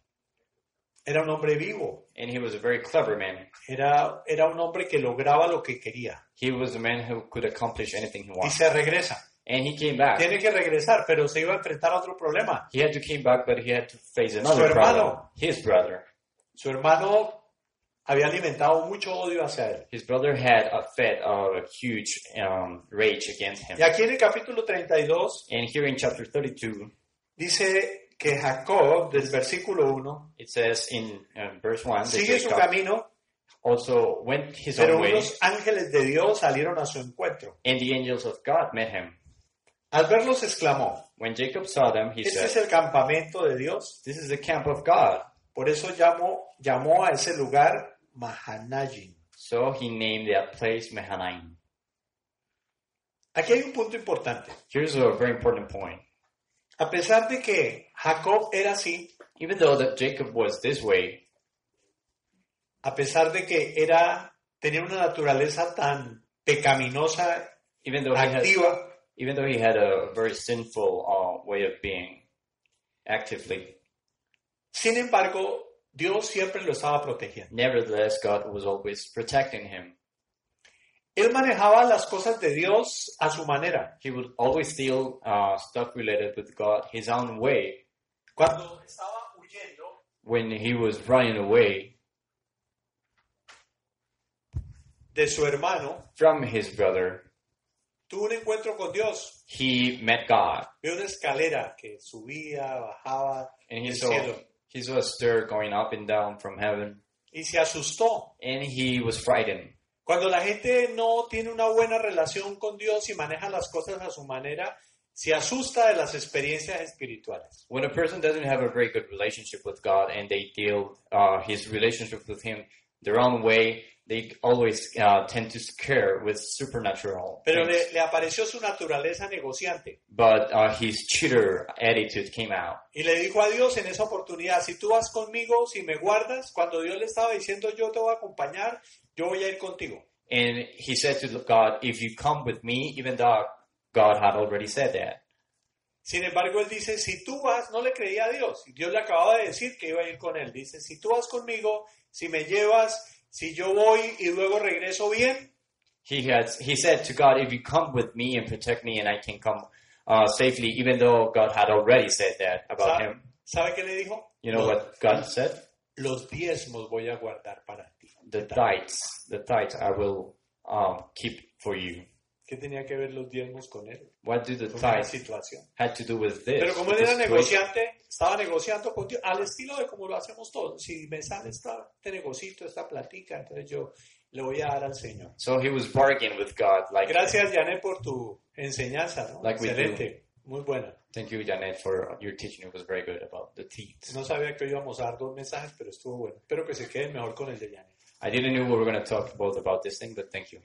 Era un hombre vivo. and he was a very clever man. Era, era un hombre que lograba lo que quería. He was a man who could accomplish anything he Y wanted. se regresa. And he came back. Tiene que regresar, pero se iba a enfrentar a otro problema. He had to came back, but he had to face another Su problem. hermano. His brother. Su hermano había alimentado mucho odio hacia él. His brother had a fed of a huge um, rage against him. Y aquí en el capítulo treinta y dos And here in chapter thirty-two, dice que Jacob, del versículo uno, it says in uh, verse one, that sigue su Jacob camino, also went his pero own way, unos ángeles de Dios salieron a su encuentro. and the angels of God met him. Al verlos exclamó, When Jacob saw them, he este es said, el campamento de Dios. "This is the camp of God." Por eso llamó, llamó a ese lugar Mahanayim. So he named that place Mahanaim. Aquí hay un punto importante. Here's a very important point. A pesar de que Jacob era así, Even though that Jacob was this way, a pesar de que era, tenía una naturaleza tan pecaminosa, even though he had, activa, even though he had a very sinful uh, way of being, actively, sin embargo, Dios siempre lo estaba protegiendo. nevertheless, God was always protecting him. Él manejaba las cosas de Dios a su manera. He would always deal uh, stuff related with God his own way. Cuando estaba huyendo, When he was running away de su hermano, from his brother, tuvo un encuentro con Dios. he met God, Vio una escalera que subía, bajaba and he del saw cielo he saw a stir going up and down from heaven, y se asustó. and he was frightened. Cuando la gente no tiene una buena relación con Dios y maneja las cosas a su manera, se asusta de las experiencias espirituales. When a person doesn't have a very good relationship with God and they deal uh, his relationship with Him their own way, they always uh, tend to scare with supernatural Pero things. le, le apareció su naturaleza negociante But uh, his cheater attitude came out. y le dijo a Dios en esa oportunidad, si tú vas conmigo, si me guardas, cuando Dios le estaba diciendo yo te voy a acompañar, yo voy a ir contigo. And he said to God, if you come with me, even though God had already said that. Sin embargo, él dice, si tú vas, no le creía a Dios. Y Dios le acababa de decir que iba a ir con él. Dice, si tú vas conmigo, si me llevas, si yo voy y luego regreso bien, He had he said to God, if you come with me and protect me and I can come uh, safely, even though God had already said that about ¿sabe, him. ¿sabe qué le dijo? You know what God said? Los diezmos voy a guardar para ti. The tithes, the tithes I will um, keep for you. ¿Qué tenía que ver los diezmos con él? What do the Con la tithes situación. had to do with this? Pero como él With era this situation? negociante, estaba negociando con Dios, al estilo de como lo hacemos todos. Si me sale esta, este negocito, esta platica, entonces yo le voy a dar al Señor. So he was bargaining with God, like, Gracias, Janet, por tu enseñanza, ¿no? Like we Excelente, muy buena. thank you, Janet, for your teaching. It was very good about the teeth. No sabía que hoy íbamos a dar dos mensajes, pero estuvo bueno. Espero que se queden mejor con el de Janet. I didn't know we were going to talk both about this thing, but thank you.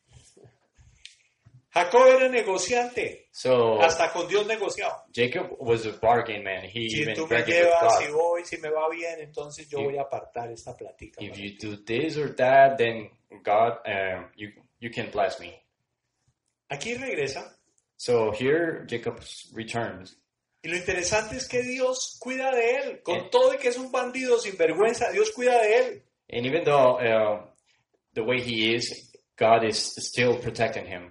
Jacob era negociante, So hasta con Dios negociaba. Jacob was a bargain man. He Si even tú me bargained with llevas, God. si voy, si me va bien, entonces yo If- voy a apartar esta platica. If para you ti. do this or that, then God, um, you you can bless me. Aquí regresa, So here Jacob returns, y lo interesante es que Dios cuida de él, con Eh. todo y que es un bandido sin vergüenza, Dios cuida de él. and even though uh, the way he is, God is still protecting him.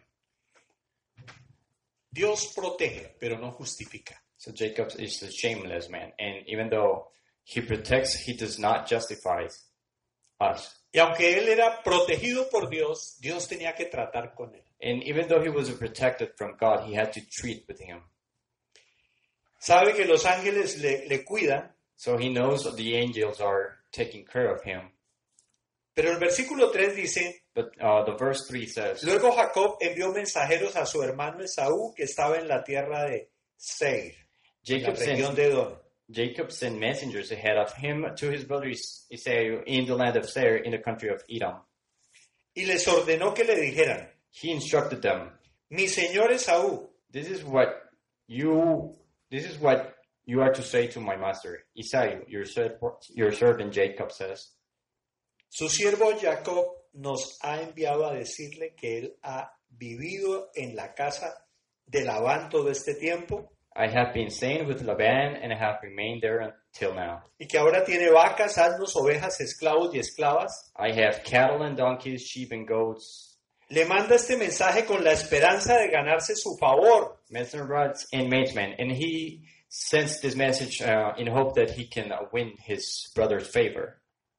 Dios protege, pero no justifica. So Jacob is a shameless man, and even though he protects, he does not justify us. Y aunque él era protegido por Dios, Dios tenía que tratar con él. And even though he was protected from God, he had to treat with him. Sabe que los ángeles le, le cuidan, So he knows the angels are taking care of him. pero el versículo tres dice, But uh, the verse three says, luego Jacob envió mensajeros a su hermano Esaú, que estaba en la tierra de Seir, en la Jacob región sent, de Edom. Jacob sent messengers ahead of him to his brother Esau in the land of Seir in the country of Edom. Y les ordenó que le dijeran, He instructed them, mi señor Esaú, This is what you this is what you are to say to my master Esau, your serv- your servant Jacob says. su siervo Jacob nos ha enviado a decirle que él ha vivido en la casa de Labán todo este tiempo I have been staying with Laban and I have remained there until now. y que ahora tiene vacas, asnos, ovejas, esclavos y esclavas. I have cattle and donkeys, sheep and goats, Le manda este mensaje con la esperanza de ganarse su favor. messenger rods and maidmen, and he sends this message uh, in hope that he can uh, win his brother's favor.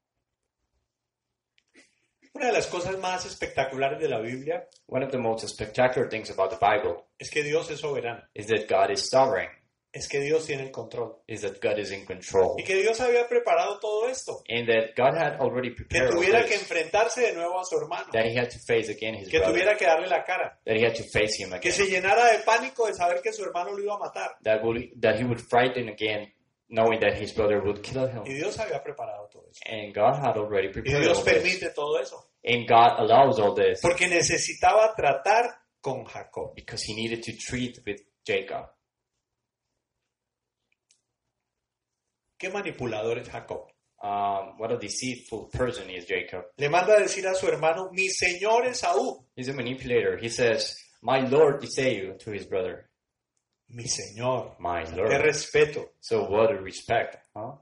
Una de las cosas más espectaculares de la Biblia One of the most spectacular things about the Bible es que Dios es soberano, is that God is sovereign, es que Dios tiene el control is that God is in control, y que Dios había preparado todo esto, and that God had already que prepared all tuviera que this, enfrentarse de nuevo a su hermano, that he had to face again his que brother, tuviera que darle la cara, that he had to face him que again, se llenara de pánico de saber que su hermano lo iba a matar. that, would, that he would frighten again, knowing that his brother would kill him. Y Dios había preparado todo eso. And God had already Y prepared Dios all this. permite todo eso, And God allows all this porque necesitaba tratar con Jacob. because he needed to treat with Jacob. ¿Qué manipulador es Jacob? Um, what a deceitful person is Jacob. Le manda a decir a su hermano, mi señor Esaú, He's a manipulator. He says, my Lord Esau to his brother. mi señor. My Qué Lord. respeto. So what a respect, huh?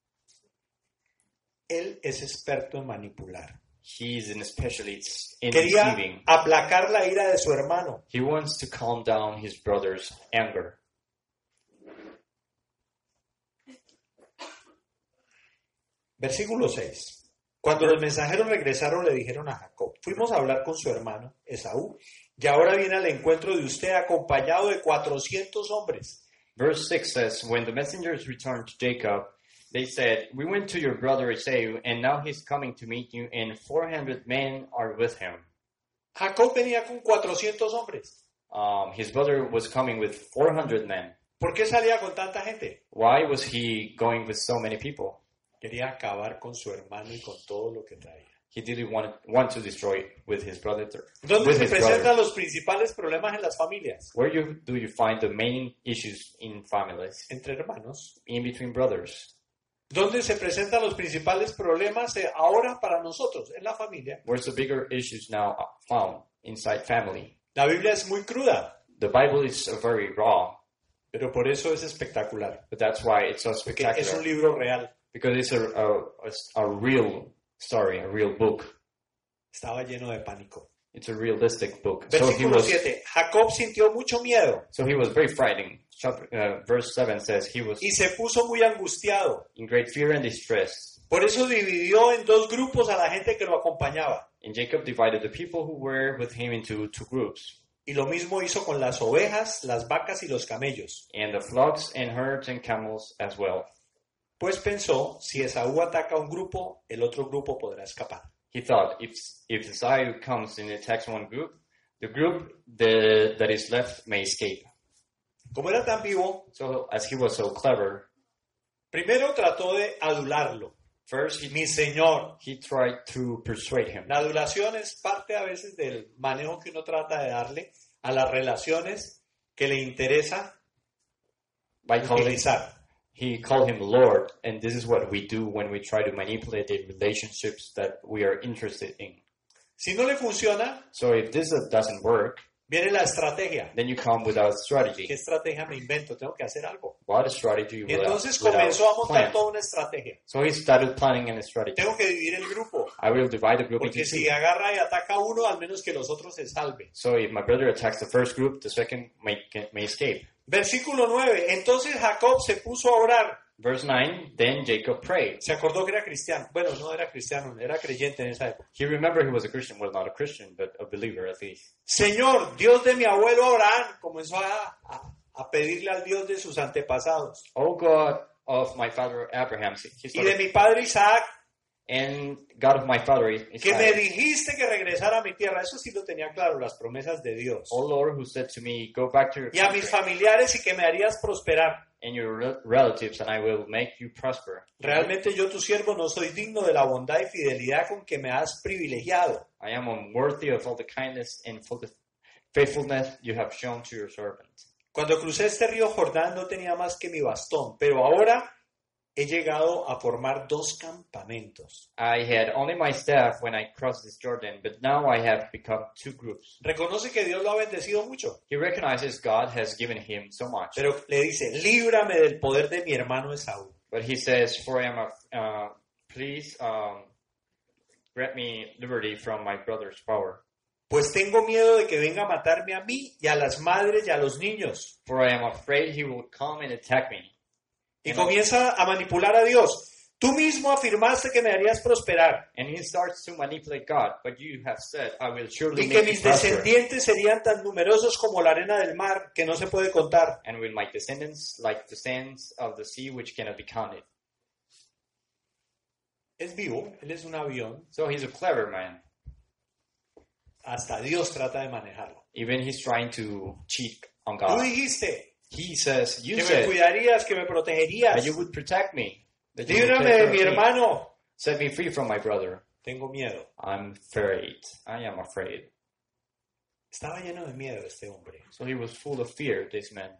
Él es experto en manipular. He's an specialist in Quería deceiving. aplacar la ira de su hermano. He wants to calm down his brother's anger. Versículo seis. Cuando los mensajeros regresaron le dijeron a Jacob, fuimos a hablar con su hermano Esaú y ahora viene al encuentro de usted acompañado de cuatrocientos hombres. Verse six says, when the messengers returned to Jacob, they said, we went to your brother Esau, and now he's coming to meet you, and four hundred men are with him. Jacob venía con cuatrocientos hombres. Um, his brother was coming with four hundred men. ¿Por qué salía con tanta gente? Why was he going with so many people? Quería acabar con su hermano y con todo lo que traía. He didn't want, want to destroy it with his brother. ¿Dónde With se his presentan brother. los principales problemas en las familias? Where you, do you find the main issues in families? Entre hermanos. In between brothers. ¿Dónde se presentan los principales problemas eh, ahora para nosotros? En la familia. Where's the bigger issues now found? Inside family. La Biblia es muy cruda, The Bible is uh, very raw, pero por eso es espectacular. but that's why it's so Porque es un spectacular. libro real. Because it's a, a, a, a real story, a real book. Estaba lleno de pánico. It's a realistic book. So he Versículo was, siete. Jacob sintió mucho miedo so he was very frightening. Chapter, uh, verse seven says he was y se puso muy angustiado. in great fear and distress. Por eso dividió en dos grupos a la gente que lo acompañaba. And Jacob divided the people who were with him into two groups. Y lo mismo hizo con las ovejas, las vacas y los camellos. And the flocks and herds and camels as well. Pues pensó, si Esaú ataca a un grupo, el otro grupo podrá escapar. He thought, if if Esau comes and attacks one group, the group the, that is left may escape. Como era tan vivo, So as he was so clever, primero trató de adularlo. first he, Mi señor. he tried to persuade him. La adulación es parte a veces del manejo que uno trata de darle a las relaciones que le interesa By calling, utilizar. he called him Lord, and this is what we do when we try to manipulate the relationships that we are interested in. Si no le funciona, So if this uh, doesn't work, viene la estrategia. then you come without strategy. ¿Qué estrategia me invento? Tengo que hacer algo. What strategy Y without, entonces without comenzó a montar plan? toda una estrategia. So he started planning a strategy. Tengo que dividir el grupo, I will divide the group into porque two. si agarra y ataca a uno, al menos que los otros se salven. So if my brother attacks the first group, the second may, may escape. Versículo nueve. Entonces Jacob se puso a orar. Verse nine, then Jacob prayed. Se acordó que era cristiano. Bueno, no era cristiano, era creyente en esa época. He remembered he was a Christian. Well, not a Christian, but a believer at least. Señor, Dios de mi abuelo Abraham, comenzó a, a, a pedirle al Dios de sus antepasados. Oh God of my father Abraham, he Y de started, mi padre Isaac, and God of my father que me Isaac. dijiste que regresara a mi tierra. Eso sí lo tenía claro, las promesas de Dios. Oh Lord, who said to me, go back to your Y a mis country familiares y que me harías prosperar. and your re- relatives, and I will make you prosper. Realmente yo, tu siervo, no soy digno de la bondad y fidelidad con que me has privilegiado. I am unworthy of all the kindness and full faithfulness you have shown to your servant. Cuando crucé este río Jordán no tenía más que mi bastón, pero ahora he llegado a formar dos campamentos. I had only my staff when I crossed this Jordan, but now I have become two groups. Reconoce que Dios lo ha bendecido mucho, He recognizes God has given him so much, pero le dice, líbrame del poder de mi hermano Esaú. but he says, "For I am a, uh, please um, grant me liberty from my brother's power. Pues tengo miedo de que venga a matarme a mí y a las madres y a los niños. For I am afraid he will come and attack me." Y comienza a manipular a Dios. Tú mismo afirmaste que me harías prosperar And he starts to manipulate God, but you have said, "I will surely y que make you mis prosper, descendientes serían tan numerosos como la arena del mar que no se puede contar. and with my descendants like the sands of the sea, which cannot be counted." Es vivo, él es un avión. So he's a clever man. Hasta Dios trata de manejarlo. Even he's trying to cheat on Tú God. dijiste He says, "You que me said cuidarías, que me protegerías. that you would protect me, that you would Líbrame take de care mi of me. hermano. Set me free from my brother. Tengo miedo. I'm afraid. I am afraid." Estaba lleno de miedo este hombre. So he was full of fear, this man.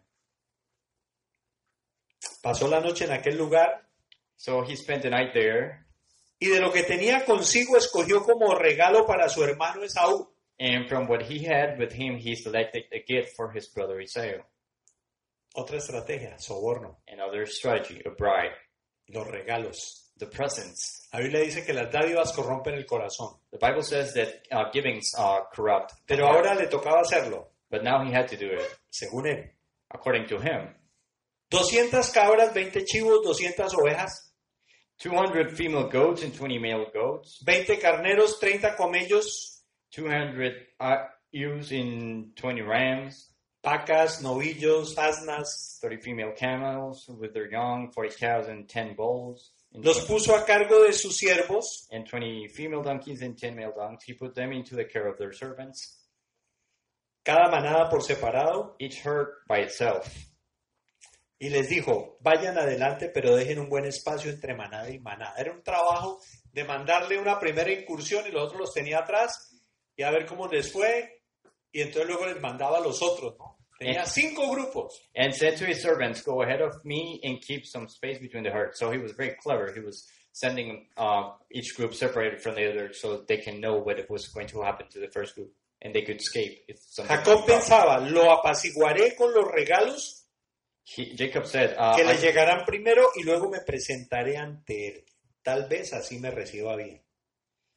Pasó la noche en aquel lugar So he spent the night there, y de lo que tenía consigo escogió como regalo para su hermano Esaú. and from what he had with him, he selected a gift for his brother Esau. Otra estrategia, soborno, Another strategy, a bribe, los regalos. the presents. La Biblia dice que las dádivas corrompen el corazón, The Bible says that uh, givings are corrupt. the pero heart. ahora le tocaba hacerlo, But now he had to do it, según él. according to him. doscientas cabras, veinte chivos, doscientas ovejas, two hundred female goats and twenty male goats, veinte carneros, treinta camellos, two hundred uh, ewes and twenty rams, vacas, novillos, asnas. thirty female camels with their young, forty cows and ten bulls, and, Los twenty, puso a cargo de sus siervos and twenty female donkeys and ten male donkeys. He put them into the care of their servants, cada manada por separado, each herd by itself. y les dijo, vayan adelante, pero dejen un buen espacio entre manada y manada. Era un trabajo de mandarle una primera incursión y los otros los tenía atrás y a ver cómo les fue, y entonces luego les mandaba a los otros, ¿no? Tenía cinco grupos. And said to his servants, "Go ahead of me and keep some space between the herds." So he was very clever. He was sending uh, each group separated from the other so they can know what was going to happen to the first group and they could escape. If something Jacob went wrong. pensaba, lo apaciguaré con los regalos He, Jacob said, uh, que le I, llegarán primero y luego me presentaré ante él. Tal vez así me reciba bien.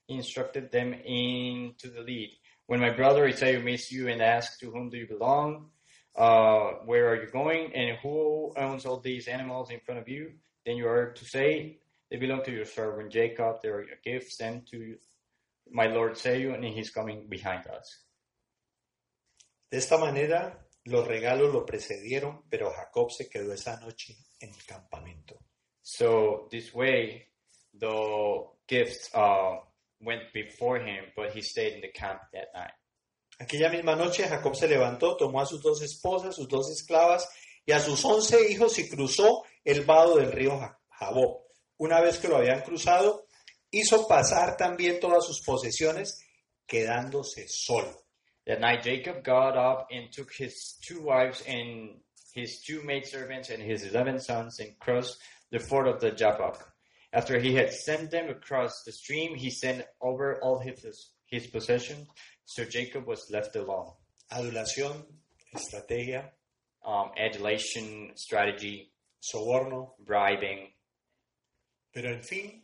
he instructed them into the lead. When my brother Esau meets you and asks, to whom do you belong? Uh, where are you going? And who owns all these animals in front of you? Then you are to say, they belong to your servant Jacob. They are gifts sent to my Lord Esau, and he's coming behind us. De esta manera, los regalos lo precedieron, pero Jacob se quedó esa noche en el campamento. So this way, the gifts uh, went before him, but he stayed in the camp that night. Aquella misma noche Jacob se levantó, tomó a sus dos esposas, sus dos esclavas y a sus once hijos y cruzó el vado del río Jaboc. Una vez que lo habían cruzado, hizo pasar también todas sus posesiones, quedándose solo. That night Jacob got up and took his two wives and his two maidservants and his eleven sons and crossed the ford of the Jabbok. After he had sent them across the stream, he sent over all his, his possessions. So Jacob was left alone. Adulación, estrategia, Um, adulation, strategy, soborno, bribing, pero en fin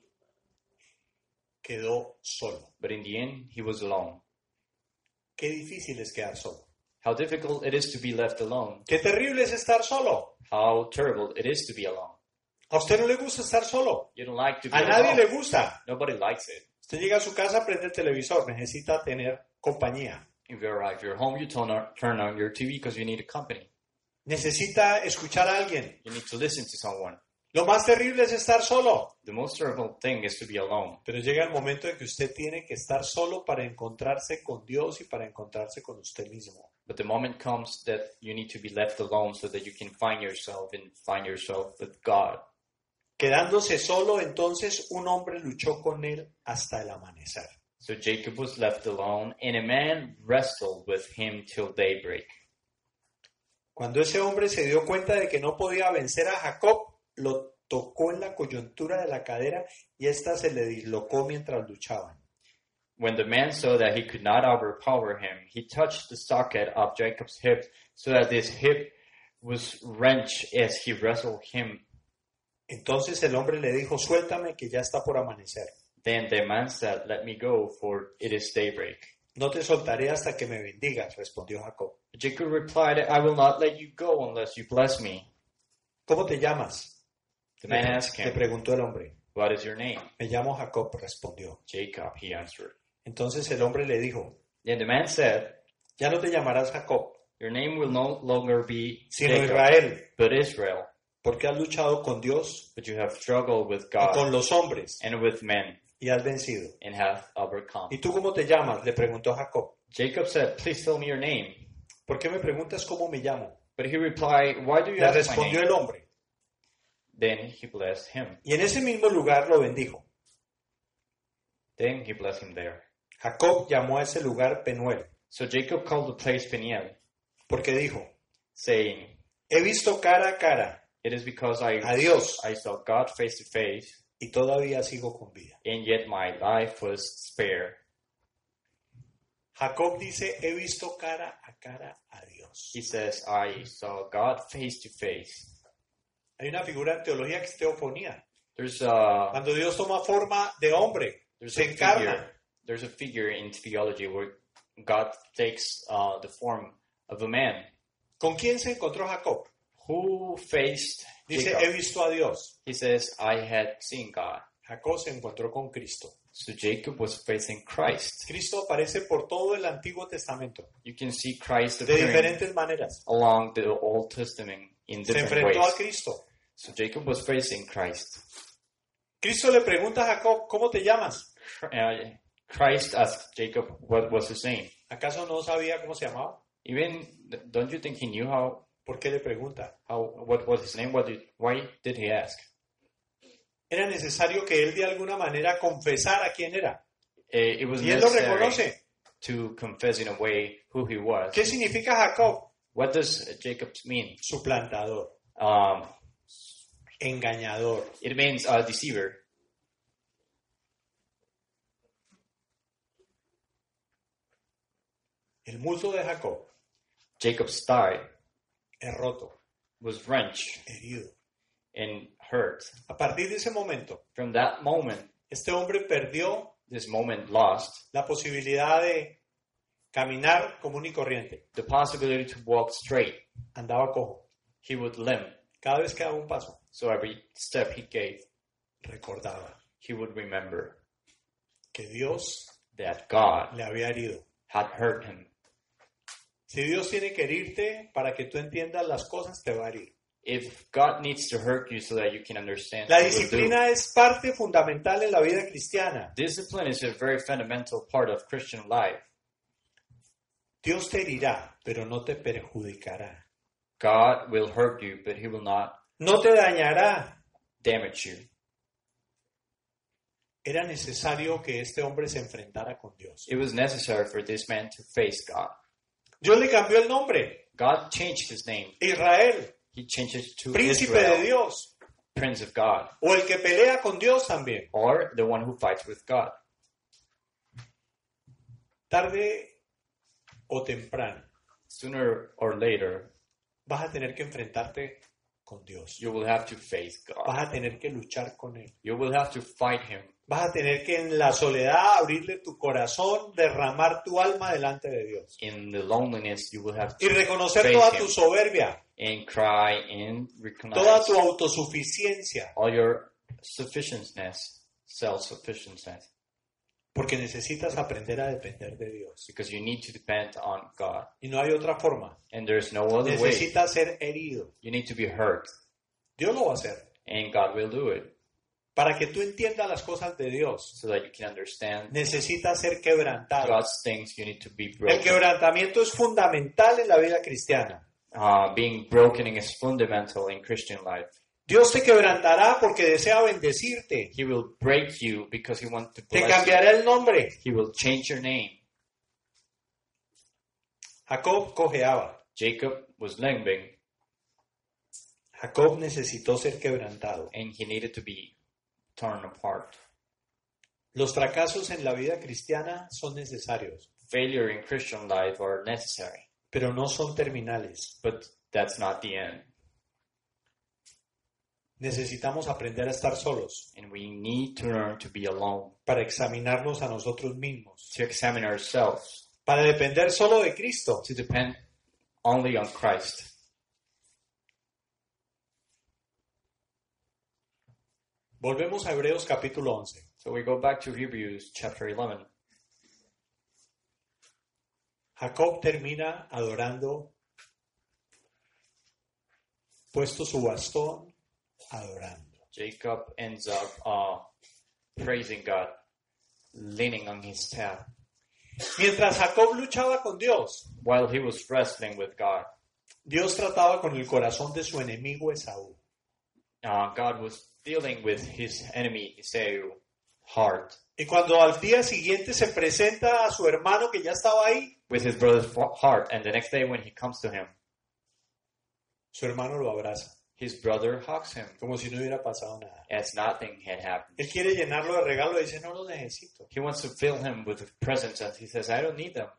quedó solo. but in the end, he was alone. Qué difícil es quedar solo. How difficult it is to be left alone. Qué terrible es estar solo. How terrible it is to be alone. A usted no le gusta estar solo. You don't like to be A nadie alone. le gusta. Nobody likes it. Usted llega a su casa, prende el televisor, necesita tener compañía. If you're, if you're home, you turn on, turn on your T V because you need a company. Necesita escuchar a alguien. You need to listen to someone. Lo más terrible es estar solo. The most terrible thing is to be alone. Pero llega el momento en que usted tiene que estar solo para encontrarse con Dios y para encontrarse con usted mismo. But the moment comes that you need to be left alone so that you can find yourself and find yourself with God. Quedándose solo, entonces un hombre luchó con él hasta el amanecer. So Jacob was left alone, and a man wrestled with him till daybreak. Cuando ese hombre se dio cuenta de que no podía vencer a Jacob, lo tocó en la coyuntura de la cadera y ésta se le dislocó mientras luchaban. When the man saw that he could not overpower him, he touched the socket of Jacob's hip so that his hip was wrenched as he wrestled him. Entonces el hombre le dijo, suéltame que ya está por amanecer. Then the man said, let me go, for it is daybreak. No te soltaré hasta que me bendigas, respondió Jacob. Jacob replied, I will not let you go unless you bless me. ¿Cómo te llamas? The man asked Le him, preguntó el hombre. what is your name? Me llamo Jacob, respondió. Jacob, he answered. Entonces el hombre le dijo, Then the man said, ya no te llamarás Jacob, your name will no longer be sino Jacob, Israel, but Israel, porque has luchado con Dios but you have struggled with y con God los hombres and with men y has vencido. and have overcome. ¿Y tú cómo te llamas? Le preguntó Jacob. Jacob said, please tell me your name. ¿Por qué me preguntas cómo me llamo? But he replied, why do you Le ask my respondió name? el hombre. Then he blessed him. Y en ese mismo lugar lo bendijo. Then he blessed him there. Jacob llamó a ese lugar Penuel, So Jacob called the place Peniel, porque dijo, saying, he visto cara a cara it is because I, a Dios I saw God face to face, y todavía sigo con vida. and yet my life was spared. Jacob dice, he visto cara a cara a Dios. He says, I saw God face to face. Hay una figura en teología que es teofonía. There's a, Cuando Dios toma forma de hombre, there's se a encarna. figure, there's a figure in theology where God takes uh, the form of a man. ¿Con quién se encontró Jacob? Who faced Dice, Jacob? he visto a Dios. He says, I had seen God. Jacob se encontró con Cristo. So Jacob was facing Christ. Cristo aparece por todo el Antiguo Testamento, You can see Christ de appearing diferentes maneras. along the Old Testament in Se different enfrentó a ways. Cristo. So Jacob was facing Christ. Cristo le pregunta a Jacob, ¿cómo te llamas? Uh, Christ asked Jacob what was his name. ¿Acaso no sabía cómo se llamaba? Even don't you think he knew how ¿Por qué le pregunta? how what was his name? What did, why did he ask? Era necesario que él de alguna manera confesara quién era. Uh, it was Y él lo necessary reconoce. to confess in a way who he was. ¿Qué significa Jacob? What does Jacob mean? Suplantador, Um, engañador. it means a deceiver. El muslo de Jacob Jacob's thigh es roto, was wrenched herido. and hurt. A partir de ese momento, From that moment, este hombre perdió this moment lost la posibilidad de caminar común y corriente. the possibility to walk straight. Andaba cojo. He would limp. Cada vez que daba un paso, So every step he gave, recordaba he would remember que Dios that God le había herido. had hurt him. Si Dios tiene que herirte para que tú entiendas las cosas, te va a herir. If God needs to hurt you so that you can understand, La He will do. disciplina es parte fundamental en la vida cristiana. Discipline is a very fundamental part of Christian life. Dios te herirá, pero no te perjudicará. God will hurt you, but He will not No te dañará. damage you. Era necesario que este hombre se enfrentara con Dios. It was necessary for this man to face God. Dios le cambió el nombre. God changed his name. Israel, He changed it to príncipe de Israel, Dios. Prince of God, O el que pelea con Dios también. or the one who fights with God. Tarde o temprano Sooner or later, vas a tener que enfrentarte con Dios. you will have to face God. Vas a tener que luchar con Él. You will have to fight Him. Vas a tener que en la soledad abrirle tu corazón, derramar tu alma delante de Dios. In the loneliness, you will have Y to reconocer face toda Him tu soberbia, and cry and recognize toda tu autosuficiencia, all your sufficientness, self-sufficiency, porque necesitas aprender a depender de Dios. because you need to depend on God. Y no hay otra forma. And there's no other way. Necesitas ser herido. You need to be hurt, Dios lo va a hacer. and God will do it Para que tú entiendas las cosas de Dios, so that you can understand necesitas ser quebrantado. God's things. You need to be El broken. quebrantamiento es fundamental en la vida cristiana. Uh, being broken is fundamental in Christian life. Dios te quebrantará porque desea bendecirte. He will break you because He wants to Te bless you. cambiará el nombre. He will change your name. Jacob cojeaba. Jacob was limping, Jacob necesitó ser quebrantado. and he needed to be torn apart. Los fracasos en la vida cristiana son necesarios, Failure in Christian life are necessary, pero no son terminales. but that's not the end. Necesitamos aprender a estar solos And we need to learn to be alone, para examinarnos a nosotros mismos, to examine ourselves, para depender solo de Cristo. to depend only on Christ. Volvemos a Hebreos capítulo once. So we go back to Hebrews chapter eleven. Jacob termina adorando, puesto su bastón, adorando. Jacob ends up uh, praising God, leaning on his staff. Mientras Jacob luchaba con Dios, While he was wrestling with God, Dios trataba con el corazón de su enemigo Esaú. uh, God was dealing with his enemy, Esau's heart, Y cuando al día siguiente se presenta a su hermano que ya estaba ahí, with his brother's fa- heart. And the next day when he comes to him, su hermano lo abraza, his brother hugs him como si no hubiera pasado nada. as nothing had happened. Él quiere llenarlo de regalos y dice, no los necesito. He wants to fill him with presents, and he says, I don't need them.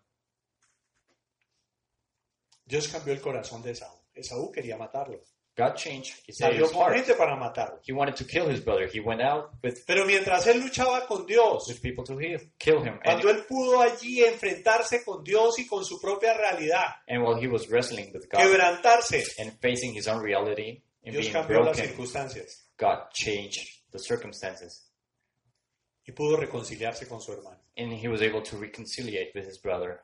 Dios cambió el corazón de Esaú. Esaú quería matarlo. God changed Salió Esau's con heart. gente para matarlo. He wanted to kill his brother. He went out with, Pero mientras él luchaba con Dios, with people to heal, kill him. And, cuando él pudo allí enfrentarse con Dios y con su propia realidad, and while he was wrestling with God quebrantarse, and facing his own reality and Dios being cambió las broken, circunstancias God changed the circumstances. y pudo reconciliarse con su hermano. And he was able to reconciliate with his brother.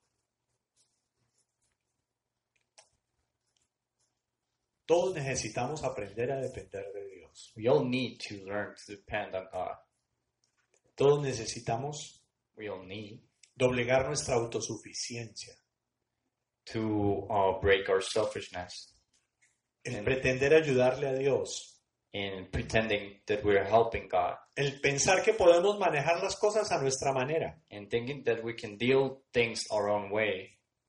Todos necesitamos aprender a depender de Dios. We all need to learn to depend on God. Todos necesitamos We all need doblegar nuestra autosuficiencia. to uh, break our selfishness El Amén. pretender ayudarle a Dios. in pretending that we're helping God El pensar que podemos manejar las cosas a nuestra manera. and thinking that we can deal things our own way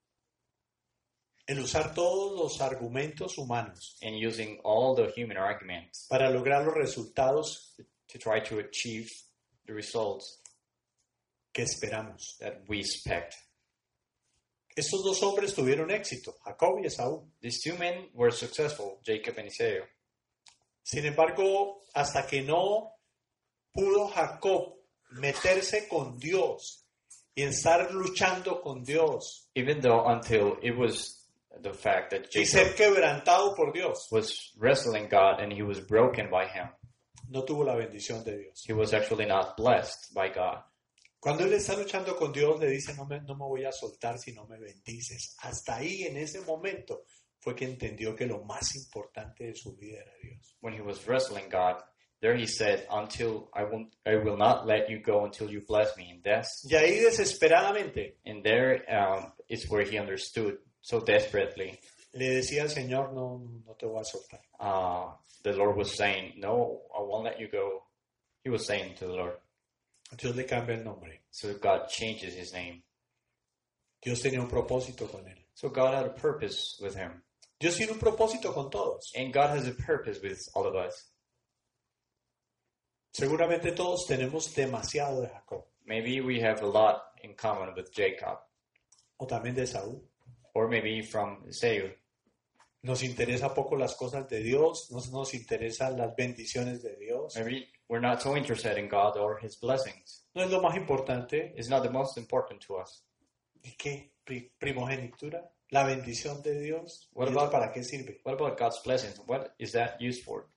El usar todos los argumentos humanos and using all the human arguments para lograr los resultados to try to achieve the results que esperamos. that we expect. Estos dos hombres tuvieron éxito, Jacob y Esaú. These two men were successful, Jacob and Esau. Sin embargo, hasta que no pudo Jacob meterse con Dios y estar luchando con Dios Even though until it was the fact that y Jacob ser quebrantado por Dios, was wrestling God and he was broken by him, no tuvo la bendición de Dios. he was actually not blessed by God. Cuando él está luchando con Dios, le dice, no me, no me voy a soltar si no me bendices. Hasta ahí, en ese momento, fue que entendió que lo más importante de su vida era Dios. When he was wrestling God, there he said, until I won't, I will not let you go until you bless me. And that's, Y ahí, desesperadamente, and there um, is where he understood so desperately. le decía al Señor, no, no te voy a soltar. Uh, the Lord was saying, no, I won't let you go. He was saying to the Lord. Dios le cambia el nombre. So God changes his name. Dios tenía un propósito con él. So God had a purpose with him. Dios tiene un propósito con todos. And God has a purpose with all of us. Seguramente todos tenemos demasiado de Jacob, Maybe we have a lot in common with Jacob. o también de Saúl. Or maybe from Esau. Nos interesa poco las cosas de Dios, no nos interesan las bendiciones de Dios. Maybe we're not so interested in God or his blessings. No es lo más importante. It's not the most important to us. ¿Y qué? Pri- Primogenitura, la bendición de Dios. What ¿Y eso about- para qué sirve? What about God's blessings? What is that used for?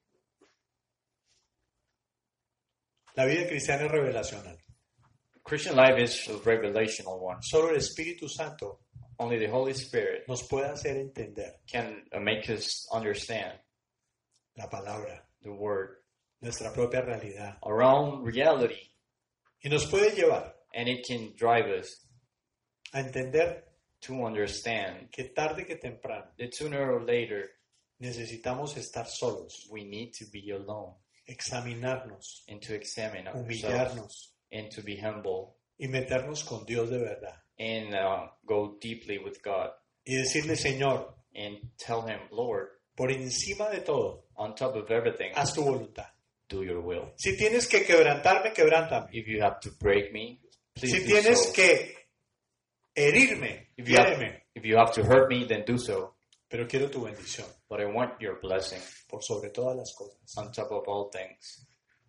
La vida cristiana es revelacional. Christian life is a revelational one. Solo el Espíritu Santo Only the Holy Spirit nos puede hacer entender can uh, make us understand la palabra, the word, nuestra propia realidad. our own reality, Y nos puede llevar and it can drive us a entender to understand que tarde que temprano that sooner or later necesitamos estar solos, we need to be alone examinarnos, and to examine ourselves humillarnos and to be humble y meternos con Dios de verdad. and uh, go deeply with God Y decirle, Señor, and tell him, Lord, por encima de todo, on top of everything, haz tu voluntad. do your will. Si tienes que quebrantarme, quebrántame. If you have to break me, please Si do tienes so. que herirme, If you, have, hiéreme. if you have to hurt me, then do so. Pero quiero tu bendición But I want your blessing por sobre todas las cosas. on top of all things.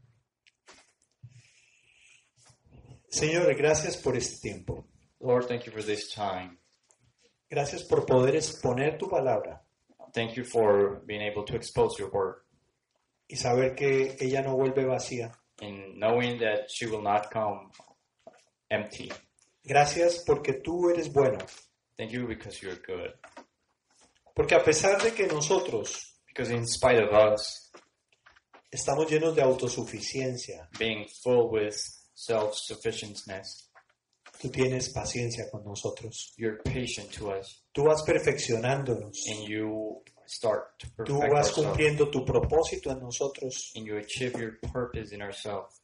Señor, gracias por este tiempo. Lord, thank you for this time. Gracias por poder exponer tu palabra Thank you for being able to expose your word y saber que ella no vuelve vacía. and knowing that she will not come empty. Gracias porque tú eres bueno. Thank you because you're good. Porque a pesar de que nosotros Because in spite of us estamos llenos de autosuficiencia, being full with self-sufficientness, tú tienes paciencia con nosotros. you're patient to us Tú vas perfeccionándonos. and you start to Tú perfect vas ourselves cumpliendo tu propósito en nosotros. and you achieve your purpose in ourselves.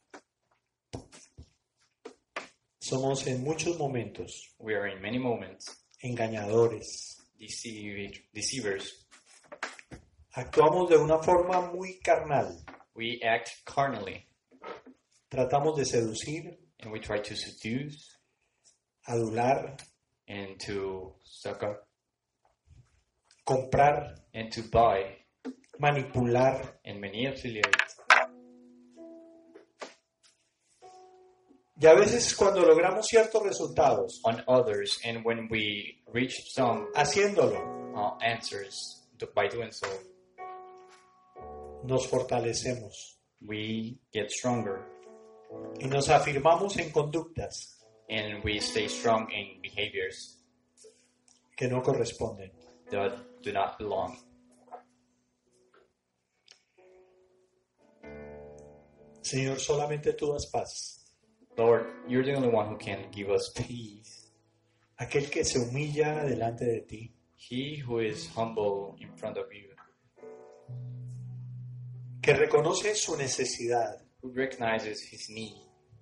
Somos en muchos momentos We are in many moments engañadores. deceive- deceivers. Actuamos de una forma muy carnal. We act carnally Tratamos de seducir, and we try to seduce adular, and to suck up comprar, and to buy manipular. and manipulate. Y a veces cuando logramos ciertos resultados, On others, and when we reach some haciéndolo, uh, answers to, by doing so, nos fortalecemos we get stronger y nos afirmamos en conductas and we stay strong in behaviors que no corresponden. that do not belong. Señor, solamente tú das paz. Lord, you're the only one who can give us peace. Aquel que se humilla delante de ti, He who is humble in front of you, que reconoce su necesidad, who recognizes his need,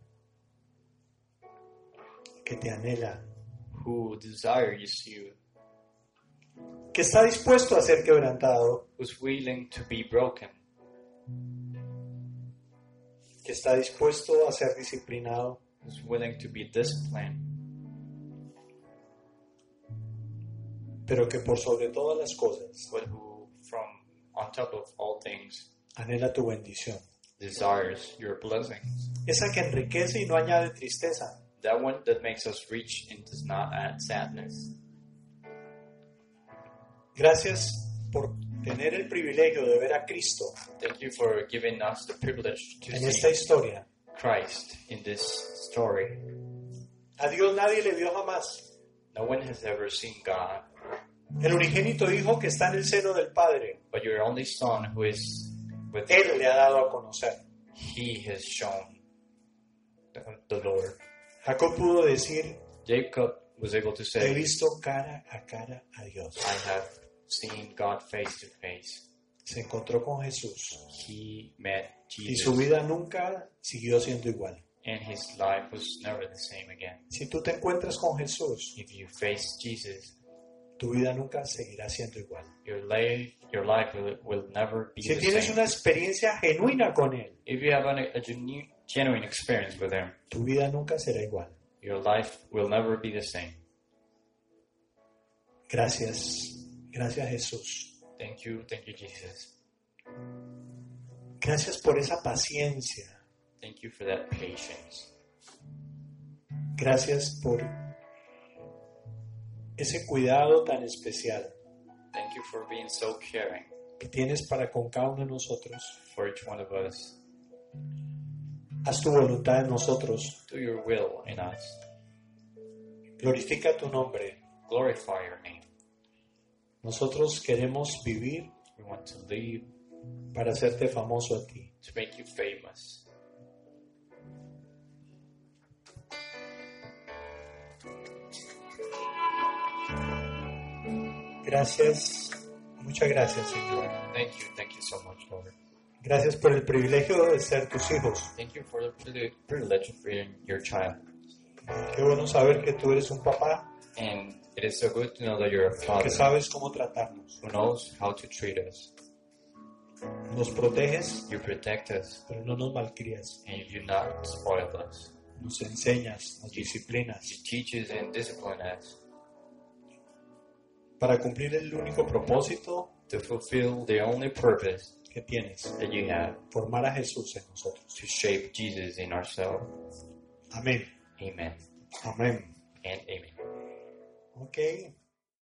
que te anhela, who desires you, que está dispuesto a ser quebrantado, who's willing to be broken, que está dispuesto a ser disciplinado, who's willing to be disciplined, pero que por sobre todas las cosas but who, from on top of all things, anhela tu bendición. desires your blessings. esa que enriquece y no añade tristeza. That one that makes us rich and does not add sadness. Gracias por tener el privilegio de ver a Cristo Thank you for giving us the privilege to en see esta historia. Christ in this story. A Dios nadie le vio jamás. No one has ever seen God, El unigénito Hijo que está en el seno del Padre, but your only Son who is with Él le ha dado a conocer. He has shown the, the Lord. Jacob pudo decir, Jacob was able to he say, visto cara a cara a Dios. I have seen God face to face. Se encontró con Jesús He met y su Jesus, vida nunca siguió siendo igual. and his life was never the same again. Si tú te encuentras con Jesús, If you face Jesus, tu vida nunca seguirá siendo igual. your life, your life will, will never be Si the tienes same. una experiencia genuina con Él, If you have an, a genu- genuine experience with Him, tu vida nunca será igual. your life will never be the same. Gracias, gracias Jesús. Thank you, thank you, Jesus. Gracias por esa paciencia. Thank you for that patience. Gracias por ese cuidado tan especial Thank you for being so caring que tienes para con cada uno de nosotros. for each one of us. Haz tu voluntad en nosotros. Do your will in us. Glorifica tu nombre. Glorify your name. Nosotros queremos vivir We want to live para hacerte famoso a ti. to make you famous. Gracias, muchas gracias, Señor. Thank you, thank you so much, Lord. Gracias por el privilegio de ser tus hijos. Thank you for the privilege- privilege of being your child. Qué bueno saber que tú eres un papá And it is so good to know that you're a father que sabes cómo tratarnos. who knows how to treat us. Nos proteges, You protect us pero no nos malcrías. and you do not spoil us. Nos enseñas, nos disciplinas You teach us and discipline us para cumplir el único propósito to fulfill the only purpose que tienes, that you have, formar a Jesús en nosotros. to shape Jesus in ourselves. Amén. Amen Amén. and amen. Ok.